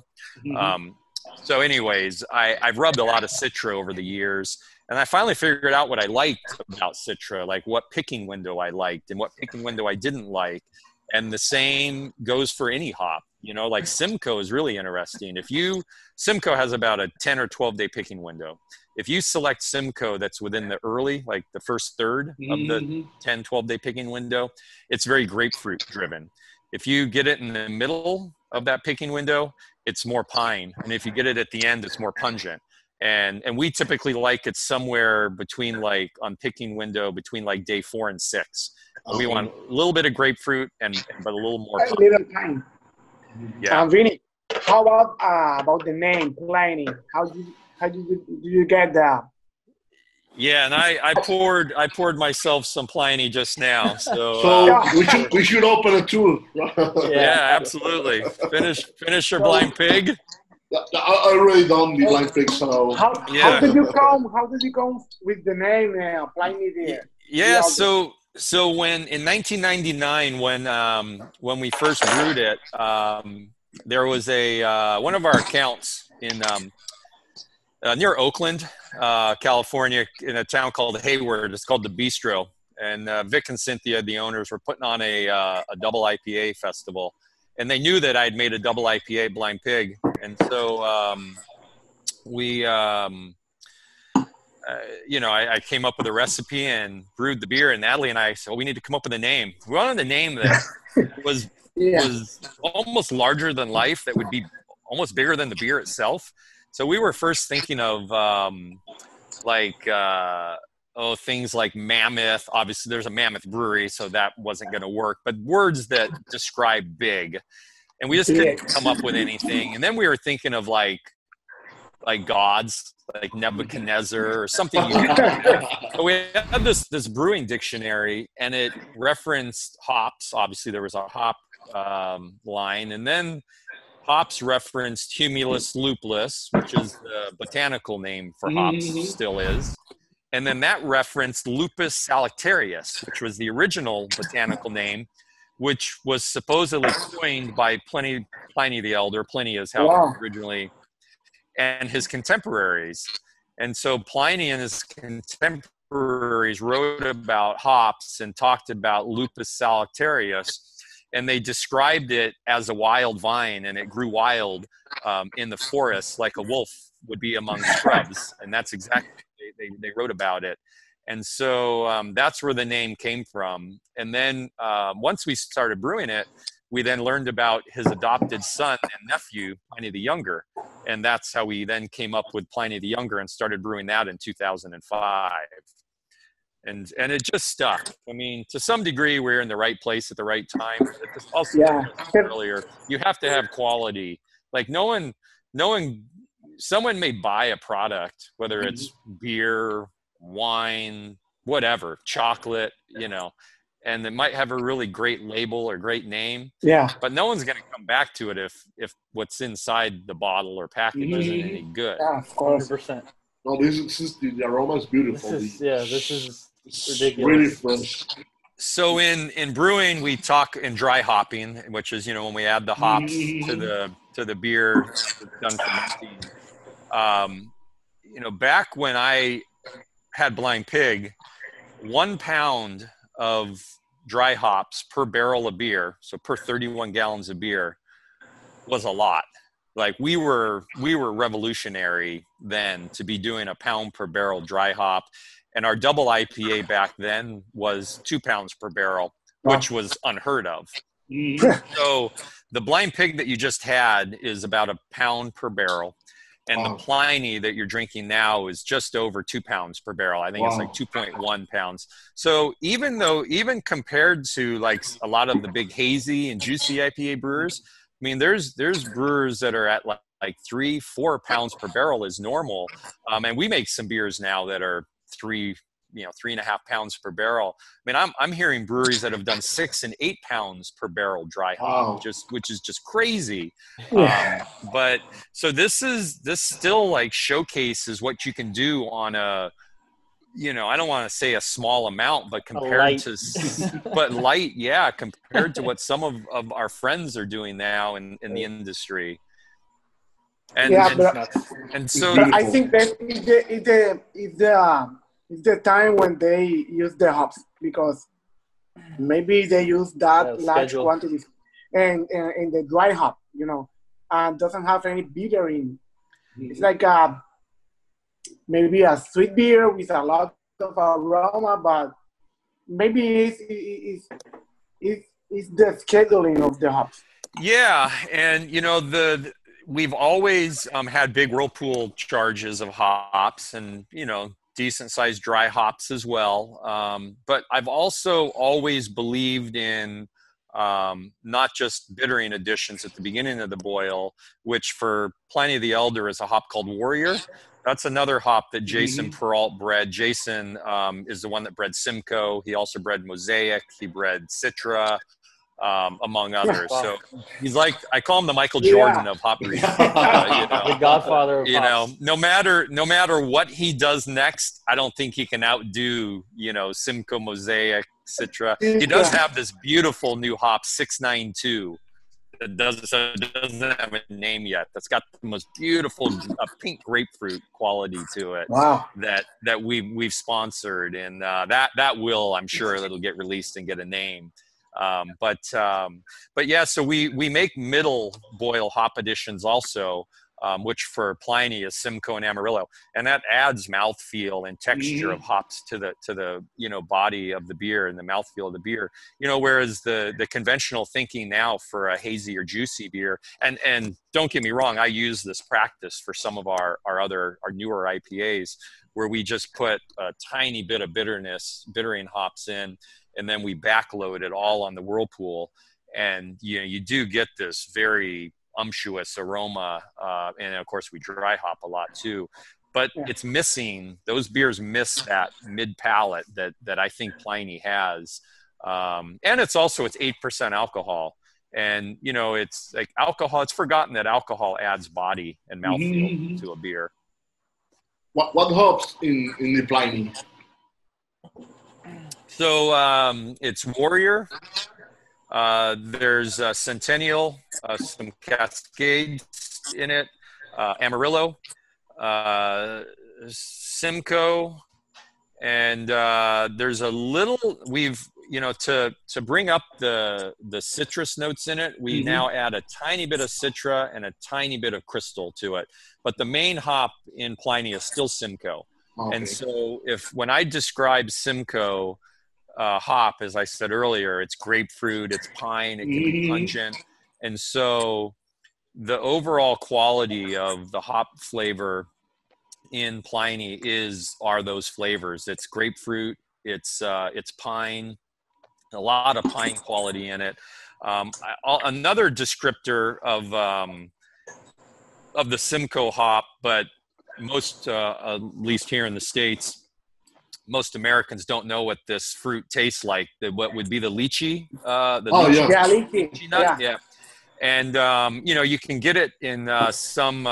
So anyways, I've rubbed a lot of Citra over the years, and I finally figured out what I liked about Citra, like what picking window I liked and what picking window I didn't like. And the same goes for any hop. You know, like Simcoe is really interesting. Simcoe has about a 10 or 12 day picking window. If you select Simcoe that's within the early, like the first third of the 10, 12 day picking window, it's very grapefruit driven. If you get it in the middle of that picking window, it's more pine. And if you get it at the end, it's more pungent. And we typically like it somewhere between like on picking window between like day 4 and 6. We want a little bit of grapefruit but a little more pine. A little pine. Yeah. Vinny, how about the name Pliny? How do you get that? Yeah, and I poured myself some Pliny just now. So we should open it too. Yeah, absolutely. Finish your blind pig. I really don't the blind pig. So how did you come? How did you come with the name Pliny there? Yeah, so when in 1999 when we first brewed it, there was one of our accounts in near Oakland, California, in a town called Hayward. It's called the Bistro, and Vic and Cynthia, the owners, were putting on a double IPA festival, and they knew that I'd made a double IPA blind pig, and so we. You know, I came up with a recipe and brewed the beer, and Natalie and I said, well, we need to come up with a name. We wanted a name that was almost larger than life, that would be almost bigger than the beer itself. So we were first thinking of things like Mammoth. Obviously, there's a Mammoth brewery, so that wasn't going to work. But words that describe big. And we just couldn't come up with anything. And then we were thinking of like gods, like Nebuchadnezzar or something. So we had this brewing dictionary, and it referenced hops. Obviously, there was a hop line, and then hops referenced Humulus lupulus, which is the botanical name for hops, still is. And then that referenced Lupus salicarius, which was the original botanical name, which was supposedly coined by Pliny the Elder. Pliny is how originally, and his contemporaries. And so Pliny and his contemporaries wrote about hops and talked about Lupus salicarius, and they described it as a wild vine, and it grew wild in the forest like a wolf would be among shrubs. And that's exactly they wrote about it. And so that's where the name came from. And then once we started brewing it, we then learned about his adopted son and nephew, Pliny the Younger. And that's how we then came up with Pliny the Younger and started brewing that in 2005. And it just stuck. I mean, to some degree, we're in the right place at the right time. Also, earlier, you have to have quality. Like knowing someone may buy a product, whether it's beer, wine, whatever, chocolate, you know, and it might have a really great label or great name. Yeah. But no one's going to come back to it if what's inside the bottle or package isn't any good. Yeah, of course. 100%. No, this is the aroma is beautiful. This is ridiculous. Really fresh. So in brewing, we talk in dry hopping, which is, you know, when we add the hops to the beer done fermenting. You know, back when I had Blind Pig, 1 pound of dry hops per barrel of beer, so per 31 gallons of beer, was a lot. Like we were revolutionary then to be doing a pound per barrel dry hop. And our double IPA back then was 2 pounds per barrel, which was unheard of. So the Blind Pig that you just had is about 1 pound per barrel. And the Pliny that you're drinking now is just over 2 pounds per barrel. I think it's like 2.1 pounds. So even compared to like a lot of the big hazy and juicy IPA brewers, I mean, there's brewers that are at like 3-4 pounds per barrel is normal. And we make some beers now that are 3.5 pounds per barrel. I mean, I'm hearing breweries that have done 6 and 8 pounds per barrel dry hop, which is just crazy. But so this still like showcases what you can do on a, you know, I don't want to say a small amount, but compared to, but light, yeah, compared to what some of our friends are doing now in the industry. And so I think that it's the time when they use the hops, because maybe they use that large quantities and the dry hop, you know, and doesn't have any bitter in. It's like maybe a sweet beer with a lot of aroma, but maybe it's the scheduling of the hops. Yeah, and you know we've always had big whirlpool charges of hops, and you know, decent sized dry hops as well. But I've also always believed in not just bittering additions at the beginning of the boil, which for Pliny the Elder is a hop called Warrior. That's another hop that Jason Peralt bred. Jason is the one that bred Simcoe. He also bred Mosaic. He bred Citra, among others. So he's like, I call him the Michael Jordan of hop breeding. You know, the Godfather of you hops. know, no matter what he does next, I don't think he can outdo, you know, Simcoe, Mosaic, Citra. He does have this beautiful new hop 692 that doesn't have a name yet. That's got the most beautiful pink grapefruit quality to it. Wow. That we've sponsored, and that will, I'm sure, that'll get released and get a name. But yeah, so we make middle boil hop additions also, which for Pliny is Simcoe and Amarillo, and that adds mouthfeel and texture of hops to the you know, body of the beer and the mouthfeel of the beer. You know, whereas the conventional thinking now for a hazy or juicy beer, and don't get me wrong, I use this practice for some of our newer IPAs, where we just put a tiny bit of bittering hops in, and then we backload it all on the whirlpool, and you know, you do get this very unctuous aroma, and of course we dry hop a lot too, but it's missing, those beers miss that mid palate that I think Pliny has, and it's 8% alcohol, and you know, it's like alcohol, it's forgotten that alcohol adds body and mouthfeel to a beer. What hops in the Pliny? So it's Warrior. There's Centennial, some Cascades in it, Amarillo, Simcoe, and there's a little, you know, to bring up the citrus notes in it, we now add a tiny bit of Citra and a tiny bit of Crystal to it. But the main hop in Pliny is still Simcoe. Okay. And so when I describe Simcoe, hop, as I said earlier, it's grapefruit, it's pine, it can be pungent, and so the overall quality of the hop flavor in Pliny are those flavors. It's grapefruit, it's pine, a lot of pine quality in it. Another descriptor of the Simcoe hop, but most, at least here in the States, most Americans don't know what this fruit tastes like. What would be the lychee? Lychee nut. Yeah. And you know, you can get it in some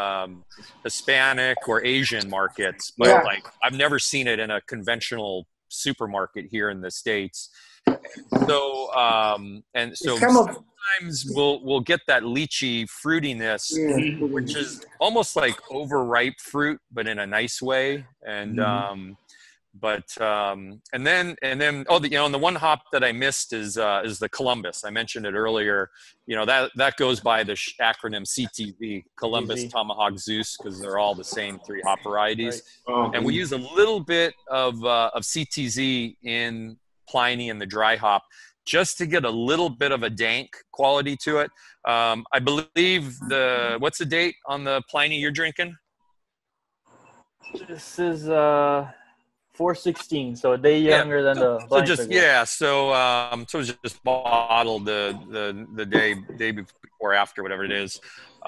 Hispanic or Asian markets, but like I've never seen it in a conventional supermarket here in the States. So It's kind of, sometimes we'll get that lychee fruitiness, which is almost like overripe fruit, but in a nice way. And and then and the one hop that I missed is the Columbus. I mentioned it earlier. That goes by the acronym CTZ, Columbus, Tomahawk, Zeus, because they're all the same 3 hop varieties. Right. And we use a little bit of CTZ in Pliny and the dry hop, just to get a little bit of a dank quality to it. I believe what's the date on the Pliny you're drinking? This is 416, so a day younger than the so just so it was just bottled the day before, after, whatever it is.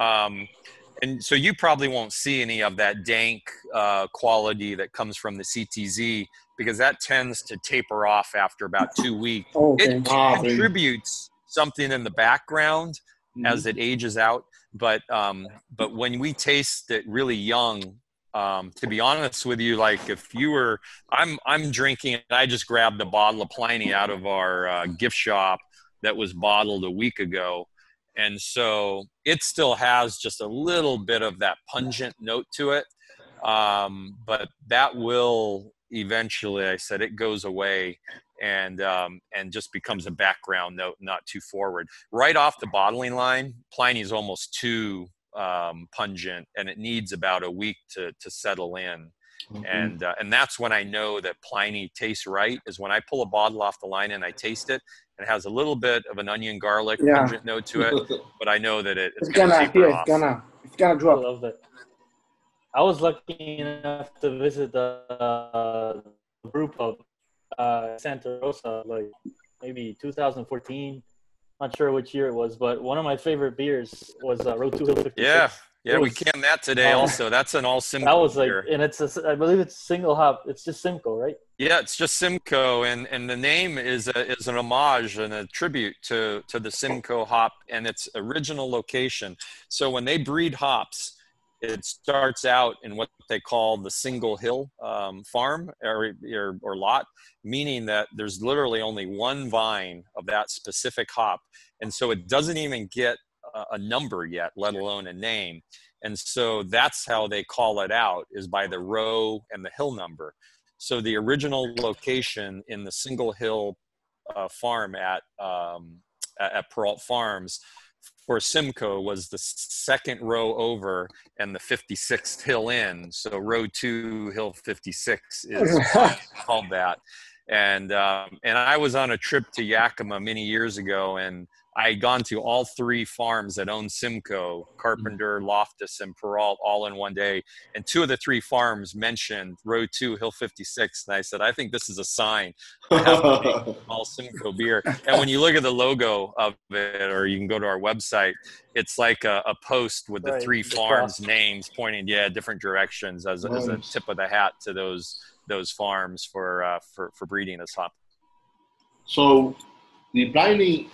And so you probably won't see any of that dank quality that comes from the CTZ, because that tends to taper off after about 2 weeks. It contributes something in the background as it ages out, but when we taste it really young, to be honest with you, like if you were, I'm drinking, I just grabbed a bottle of Pliny out of our gift shop that was bottled a week ago. And so it still has just a little bit of that pungent note to it. But that will eventually, I said, it goes away and just becomes a background note, not too forward. Right off the bottling line, Pliny is almost too pungent, and it needs about a week to settle in. And that's when I know that Pliny tastes right, is when I pull a bottle off the line and I taste it. It has a little bit of an onion garlic pungent note to it, but I know that it's gonna drop. I love that. I was lucky enough to visit the brew pub, Santa Rosa, like maybe 2014. Not sure which year it was, but one of my favorite beers was Road 2 Hill 56. Yeah, we canned that today also. That's an all Simcoe That was like, beer. and I believe it's single hop. It's just Simcoe, right? Yeah, it's just Simcoe, and the name is an homage and a tribute to the Simcoe hop and its original location. So when they breed hops, it starts out in what they call the single hill farm or lot, meaning that there's literally only one vine of that specific hop, and so it doesn't even get a number yet, let alone a name. And so that's how they call it out, is by the row and the hill number. So the original location in the single hill farm at Peralt Farms for Simcoe was the second row over and the 56th hill in. So row 2 hill 56 is called that. And I was on a trip to Yakima many years ago, and I had gone to all 3 farms that own Simcoe, Carpenter, Loftus, and Peralt, all in one day. And 2 of the 3 farms mentioned row 2, hill 56. And I said, I think this is a sign. I have to make all Simcoe beer. And when you look at the logo of it, or you can go to our website, it's like a post with the 3 farms' names pointing, different directions as a tip of the hat to those farms for breeding this hop. So the Pliny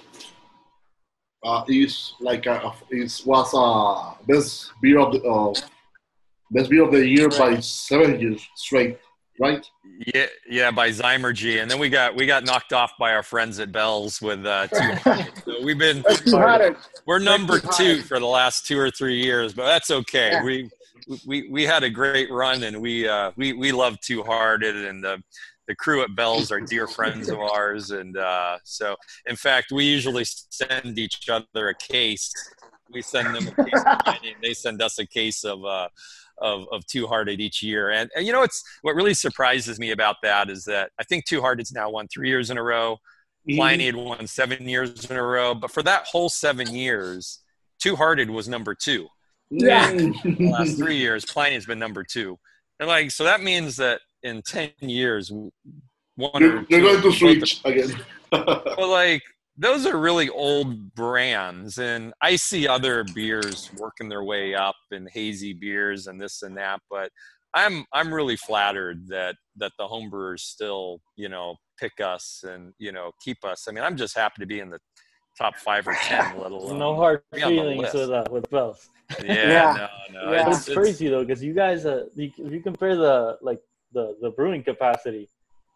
is like was best beer of the year by 7 years straight, right? Yeah, by Zymergy, and then we got knocked off by our friends at Bell's with 200. So we're number 2 for the last 2 or 3 years, but that's okay. Yeah. We had a great run, and we love Two Hearted, and the crew at Bell's are dear friends of ours. And so, in fact, we usually send each other a case. We send them a case of wine, and they send us a case of Two Hearted each year. And it's what really surprises me about that is that I think Two Hearted's now won 3 years in a row. Pliny had won 7 years in a row. But for that whole 7 years, Two Hearted was number 2. Yeah. In the last 3 years, Pliny has been number 2. And so that means that in 10 years, you're going to switch again. Well, those are really old brands, and I see other beers working their way up and hazy beers and this and that, but I'm really flattered that the homebrewers still, pick us and, keep us. I mean, I'm just happy to be in the top 5 or 10, let alone no hard feelings with Bell's. No. Yeah, it's crazy though, because you guys, if you compare the brewing capacity,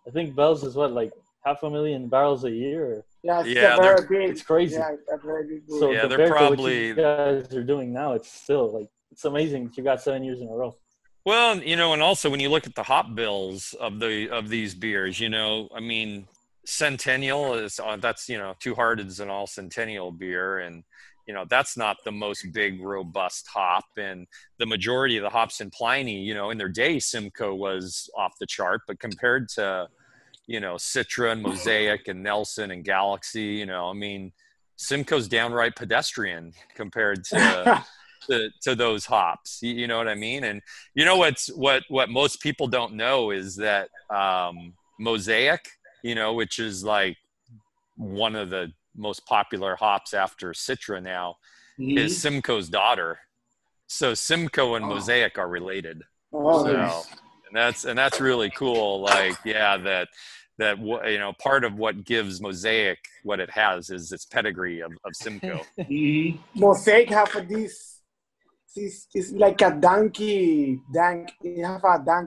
I think Bell's is what, like 500,000 barrels a year. Yeah, it's crazy. Yeah, very big. So yeah, they're probably what you guys are doing now. It's still like, it's amazing that you got 7 years in a row. Well, you know, and also when you look at the hop bills of these beers, you know, I mean, Centennial is that's, you know, Two Hearted is an all Centennial beer, and you know, that's not the most big, robust hop. And the majority of the hops in Pliny, you know, in their day, Simcoe was off the chart. But compared to, you know, Citra and Mosaic and Nelson and Galaxy, you know, I mean, Simcoe's downright pedestrian compared to to those hops. You know what I mean? And you know what most people don't know is that Mosaic, you know, which is like one of the most popular hops after Citra now, is Simcoe's daughter. So Simcoe and Mosaic are related. So, and that's really cool. Like, yeah, that you know, part of what gives Mosaic what it has is its pedigree of Simcoe. Mosaic have this it's like a dank. You have a dank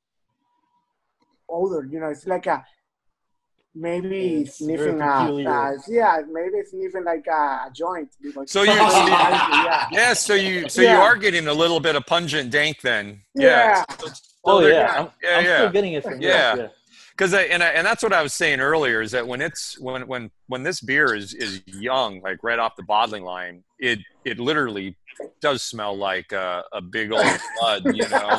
odor, you know. It's like a maybe sniffing maybe sniffing like a joint. So you you are getting a little bit of pungent dank then. Yeah. I'm still getting it from yeah. Because and that's what I was saying earlier, is that when this beer is young, like right off the bottling line, it literally does smell like a big old flood, you know.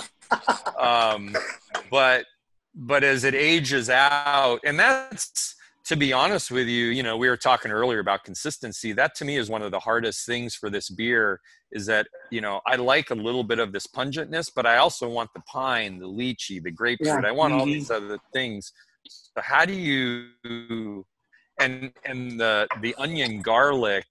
But as it ages out, and that's, to be honest with you, you know, we were talking earlier about consistency. That to me is one of the hardest things for this beer, is that, you know, I like a little bit of this pungentness, but I also want the pine, the lychee, the grapefruit. I want all these other things. So how do you, and the onion garlic,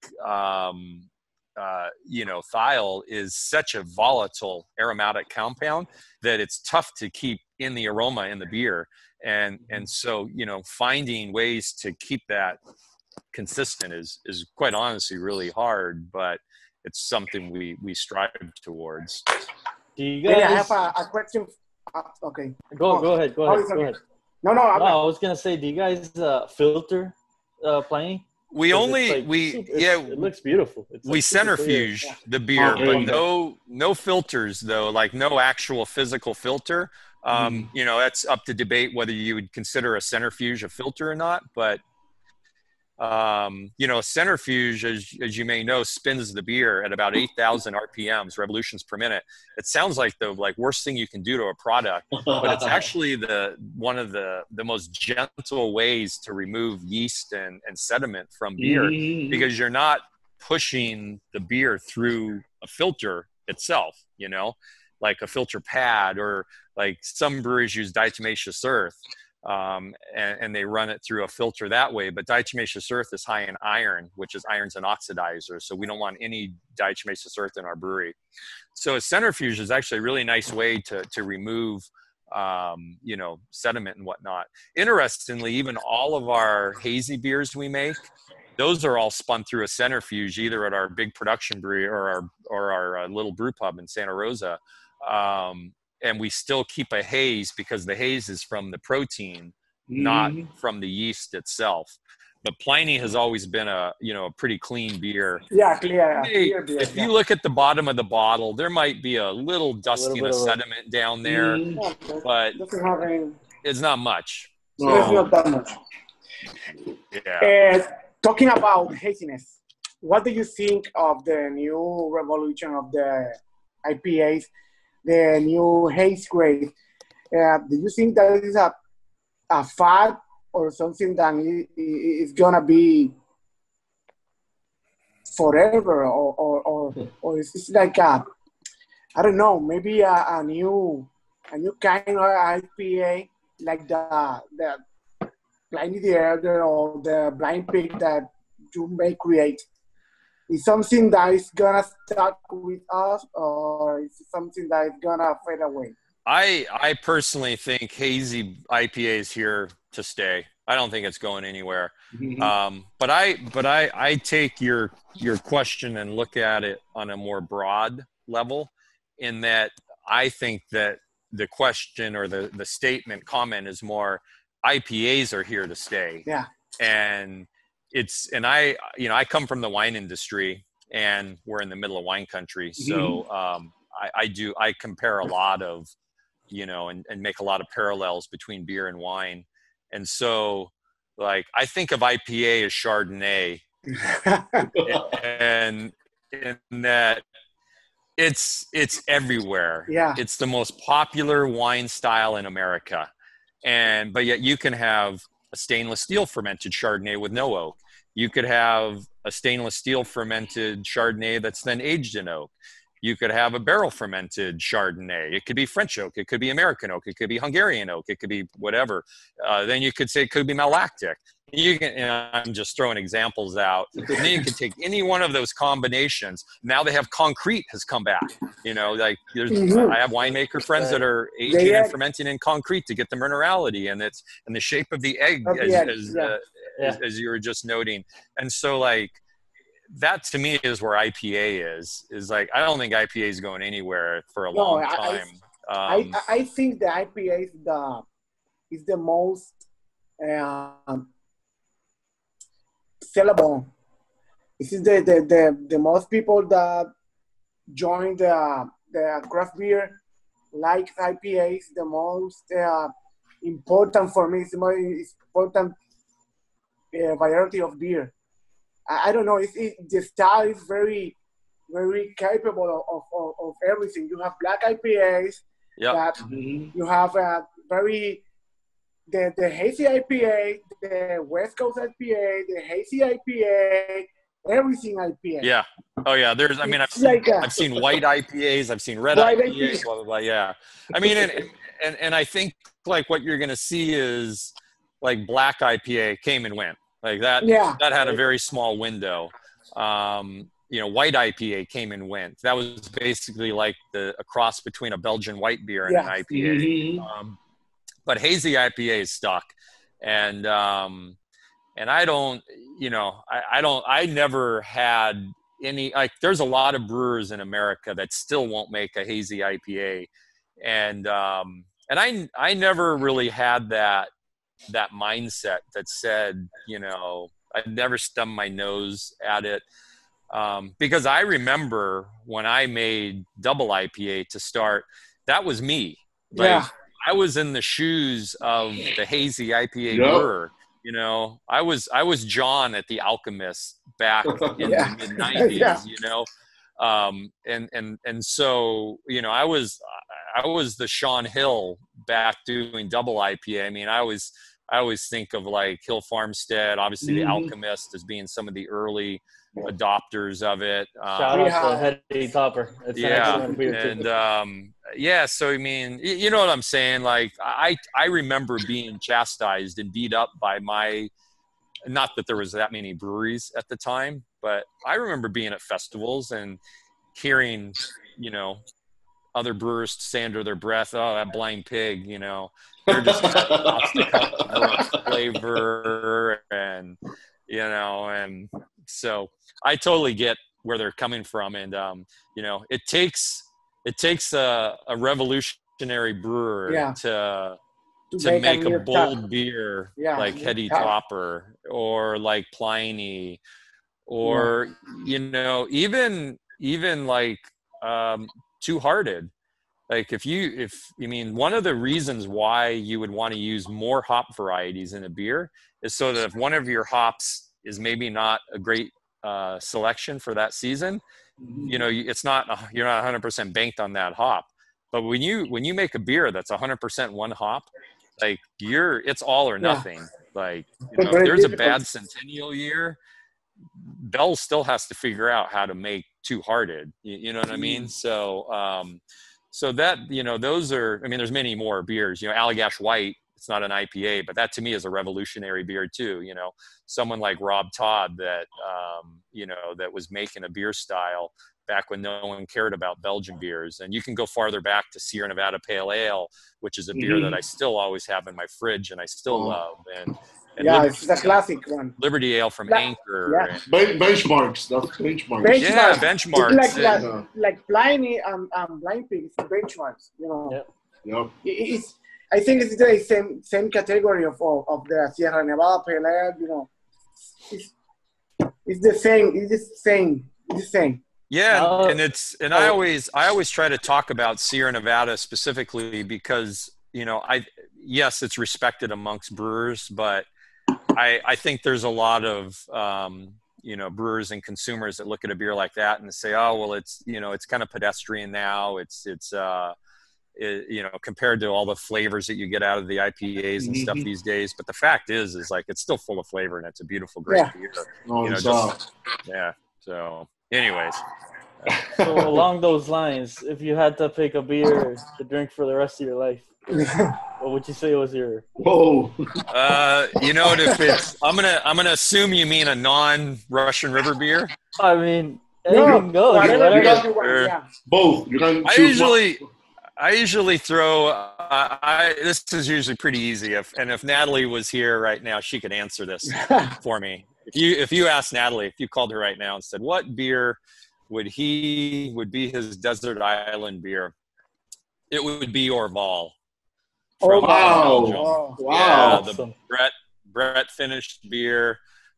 you know, thiol is such a volatile aromatic compound that it's tough to keep in the aroma in the beer. And so, you know, finding ways to keep that consistent is quite honestly really hard, but it's something we strive towards. Do you guys... I have a question. Okay. Go ahead. Go ahead. No, I was going to say, do you guys filter Pliny? We only like, it looks beautiful. It's we centrifuge the beer, but no filters though, like no actual physical filter. You know, that's up to debate whether you would consider a centrifuge a filter or not. But you know, a centrifuge, as you may know, spins the beer at about 8,000 RPMs, revolutions per minute. It sounds like the worst thing you can do to a product, but it's actually one of the most gentle ways to remove yeast and sediment from beer, because you're not pushing the beer through a filter itself, you know, like a filter pad, or like some breweries use diatomaceous earth. And they run it through a filter that way, but diatomaceous earth is high in iron, which is iron's an oxidizer, so we don't want any diatomaceous earth in our brewery. So a centrifuge is actually a really nice way to remove you know, sediment and whatnot. Interestingly, even all of our hazy beers we make, those are all spun through a centrifuge, either at our big production brewery or our little brew pub in Santa Rosa. And we still keep a haze, because the haze is from the protein, not from the yeast itself. But Pliny has always been a pretty clean beer. Yeah, clear beer. If you look at the bottom of the bottle, there might be a little dusting of sediment down there, but it's not much. So, it's not that much. Yeah. Talking about haziness, what do you think of the new revolution of the IPAs? The new haze grade. Do you think that is a fad, or something that is gonna be forever, or is this like I don't know, maybe a new kind of IPA, like the Pliny the Elder or the Blind Pig that you may create? Is something that is gonna stuck with us, or is it something that is gonna fade away? I personally think hazy IPA is here to stay. I don't think it's going anywhere. But I take your question and look at it on a more broad level, in that I think that the question or the comment is more, IPAs are here to stay. Yeah. And I come from the wine industry, and we're in the middle of wine country. So I compare a lot of, and make a lot of parallels between beer and wine. And so, like, I think of IPA as Chardonnay, and in that it's everywhere. Yeah. It's the most popular wine style in America. But yet you can have a stainless steel fermented Chardonnay with no oak. You could have a stainless steel fermented Chardonnay that's then aged in oak. You could have a barrel fermented Chardonnay. It could be French oak. It could be American oak. It could be Hungarian oak. It could be whatever. Then you could say it could be malactic. I'm just throwing examples out. And then you can take any one of those combinations. Now they have concrete has come back. Like I have winemaker friends that are aging and fermenting in concrete to get the minerality and the shape of the egg, as you were just noting. And so, like, that to me is where IPA is like, I don't think IPA is going anywhere for a long time. I think the IPA is the most sellable. This is the most people that join the craft beer like IPAs. The most important for me. It's the most important variety of beer. I don't know. The style is very, very capable of everything. You have black IPAs. Yep. You have the hazy IPA, the West Coast IPA, the hazy IPA, everything IPA. Yeah. Oh yeah. I've seen white IPAs. I've seen red IPAs. Blah, blah, blah. Yeah. I mean, and I think like what you're going to see is like black IPA came and went. Like that, that had a very small window. White IPA came and went. That was basically like a cross between a Belgian white beer and an IPA. But hazy IPA is stuck. And I don't, I never had any, like, there's a lot of brewers in America that still won't make a hazy IPA. And I never really had that mindset that said, I'd never stubbed my nose at it. Because I remember when I made double IPA to start, that was me. Like, I was in the shoes of the hazy IPA brewer. I was John at the Alchemist back in the mid-90s, and so, I was the Sean Hill back doing double IPA. I mean, I always think of like Hill Farmstead, obviously the Alchemist as being some of the early adopters of it. Shout out to Hetty Topper. It's an excellent beer too. So I mean, you know what I'm saying? Like I remember being chastised and beat up by not that there was that many breweries at the time, but I remember being at festivals and hearing, other brewers say under their breath, "Oh, that Blind Pig," they're just lots to cover flavor, and and so I totally get where they're coming from, and it takes a revolutionary brewer to make a bold beer like Hetty Topper or like Pliny, or even like Two Hearted. Like one of the reasons why you would want to use more hop varieties in a beer is so that if one of your hops is maybe not a great selection for that season, it's not, you're not 100% banked on that hop. But when you make a beer that's 100% one hop, like it's all or nothing. Like, if there's a bad Centennial year, Bell still has to figure out how to make Two Hearted. You know what I mean? So that, those are, I mean, there's many more beers, Allagash White, it's not an IPA, but that to me is a revolutionary beer too. Someone like Rob Todd that, that was making a beer style back when no one cared about Belgian beers. And you can go farther back to Sierra Nevada Pale Ale, which is a beer that I still always have in my fridge and I still love. And it's a classic one. Liberty Ale from Anchor. Yeah. Benchmarks. That's Benchmarks. Yeah, Benchmarks. It's like Pliny and Blind Pig. It's Benchmarks. Yep. I think it's the same category of the Sierra Nevada Pale Ale. You know, it's the same. It's the same. It's the same. Yeah, and I always try to talk about Sierra Nevada specifically because, you know, yes, it's respected amongst brewers, but I think there's a lot of you know, brewers and consumers that look at a beer like that and say, oh, well, it's, you know, it's kind of pedestrian now. It's you know, compared to all the flavors that you get out of the IPAs and stuff these days. But the fact is like, it's still full of flavor and it's a beautiful, great beer. Oh, you know, yeah. So anyways. So along those lines, if you had to pick a beer to drink for the rest of your life, what would you say was your? Whoa. You know, if it's, I'm gonna assume you mean a non-Russian River beer. I mean, anything goes. Whatever. Both. You can choose I usually throw. This is usually pretty easy. If Natalie was here right now, she could answer this for me. If you asked Natalie, if you called her right now and said, what beer would be his desert island beer, it would be Orval. Oh, wow. Belgium. Wow. Yeah, the Brett finished beer.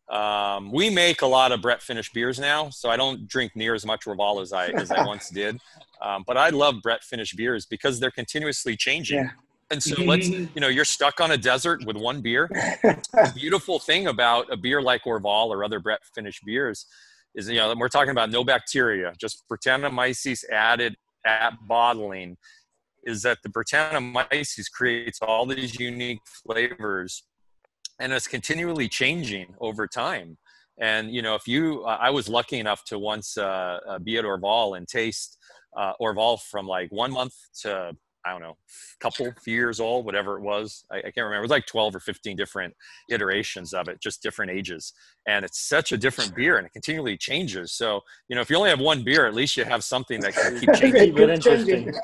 We make a lot of Brett finished beers now, so I don't drink near as much Orval as I once did. But I love Brett finished beers because they're continuously changing. Yeah. And so you know, you're stuck on a desert with one beer. The beautiful thing about a beer like Orval or other Brett finished beers is, you know, we're talking about no bacteria, just Brettanomyces added at bottling, is that the Brettanomyces creates all these unique flavors and it's continually changing over time. And, you know, I was lucky enough to once be at Orval and taste Orval from like 1 month to, I don't know, few years old, whatever it was. I can't remember. It was like 12 or 15 different iterations of it, just different ages. And it's such a different beer and it continually changes. So, you know, if you only have one beer, at least you have something that can keep changing. Keep it interesting.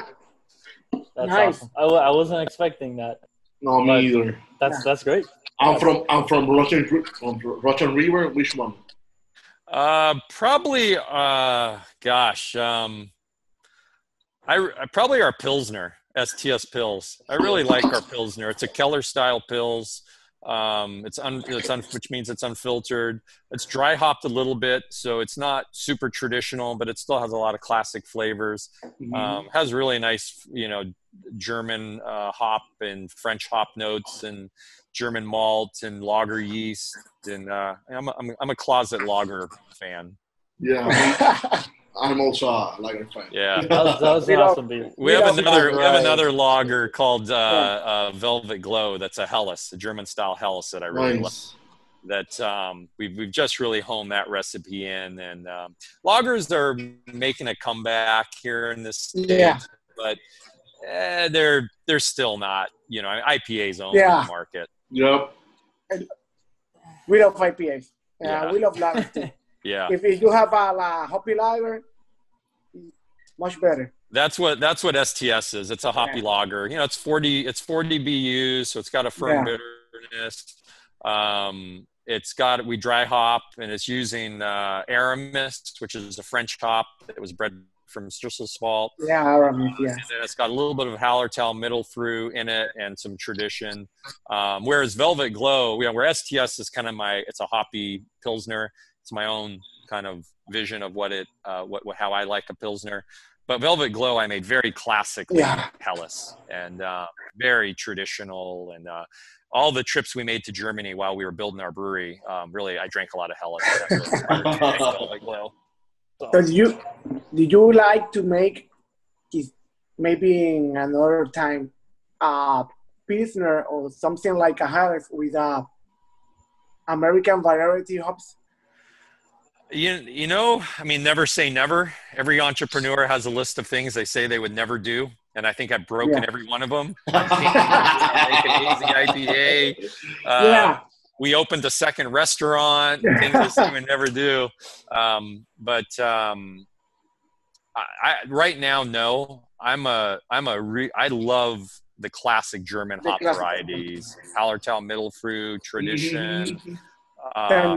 That's nice. Awesome. I wasn't expecting that. No, me either. That's great. I'm from Russian River. Which one? Probably. Gosh. I probably our Pilsner, STS Pils. I really like our Pilsner. It's a Keller style Pils. Which means it's unfiltered. It's dry hopped a little bit, so it's not super traditional, but it still has a lot of classic flavors. Has really nice, you know, German hop and French hop notes and German malt and lager yeast. And I'm a closet lager fan. Yeah. I'm also a lager fan. Yeah, that was awesome beer. We have another lager called Velvet Glow. That's a Helles, a German style Helles that I really love. That we've just really honed that recipe in, and lagers are making a comeback here in this state, but they're still not. You know, IPAs own the market. Yep. And we love IPAs. We love lagers too. Yeah. If you have a hoppy lager, much better. That's what STS is. It's a hoppy lager. You know, it's 40 BUs, so it's got a firm bitterness. We dry hop, and it's using Aramis, which is a French hop that was bred from Strisselspalt. Yeah, Aramis, yeah. And then it's got a little bit of Hallertau middle through in it and some tradition. Whereas Velvet Glow, where STS is kind of it's a hoppy Pilsner. It's my own kind of vision of how I like a Pilsner. But Velvet Glow, I made very classically Helles and very traditional. And all the trips we made to Germany while we were building our brewery, really, I drank a lot of Helles. Velvet Glow. So did you like to make, maybe in another time, Pilsner or something like a Helles with American variety hops? You know, I mean, never say never. Every entrepreneur has a list of things they say they would never do. And I think I've broken every one of them. Make an easy IPA. We opened a second restaurant. Things I say we would never do. But right now, no. I love the classic German hop varieties. Hallertau Mittelfrüh, Tradition.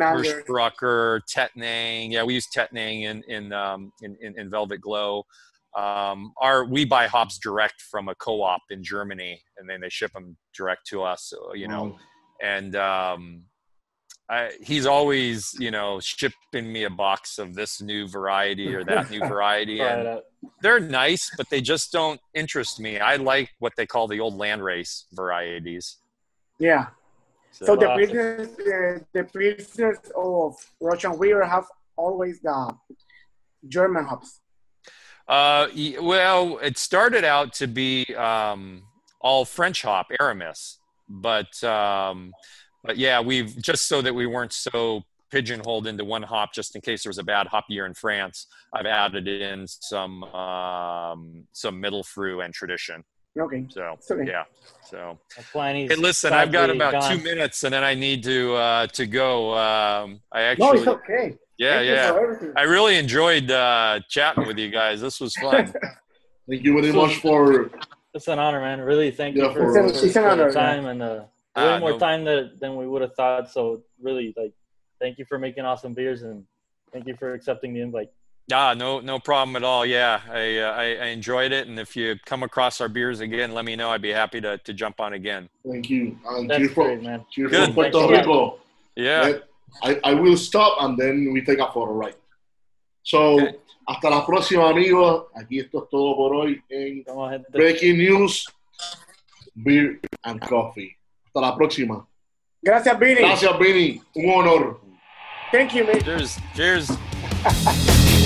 Hirschbrucker, Tettnang. Yeah, we use Tettnang in Velvet Glow. we buy hops direct from a co-op in Germany, and then they ship them direct to us, you know, and he's always, you know, shipping me a box of this new variety or that new variety. And they're nice, but they just don't interest me. I like what they call the old landrace varieties. Yeah. So the producers of Russian Weir have always the German hops. Well, it started out to be all French hop, Aramis, but yeah, we've just so that we weren't so pigeonholed into one hop, just in case there was a bad hop year in France, I've added in some middle fruit and tradition. Okay. So okay. Yeah. So hey, listen, I've got about 2 minutes, and then I need to go. I actually. No, it's okay. Yeah. I really enjoyed chatting with you guys. This was fun. Thank you very much for. It's an honor, man. Really, thank you for the time and way more time than we would have thought. So really, like, thank you for making awesome beers, and thank you for accepting the invite. No problem at all. Yeah, I enjoyed it, and if you come across our beers again, let me know. I'd be happy to jump on again. Thank you. And that's great, man. Cheers from Puerto Rico. Yeah. I will stop and then we take a photo, right? So, hasta la próxima, amigos. Aquí esto es todo por hoy en Breaking News, Beer and Coffee. Hasta la próxima. Gracias, Vinny. Gracias, Vinny. Un honor. Thank you, man. Cheers.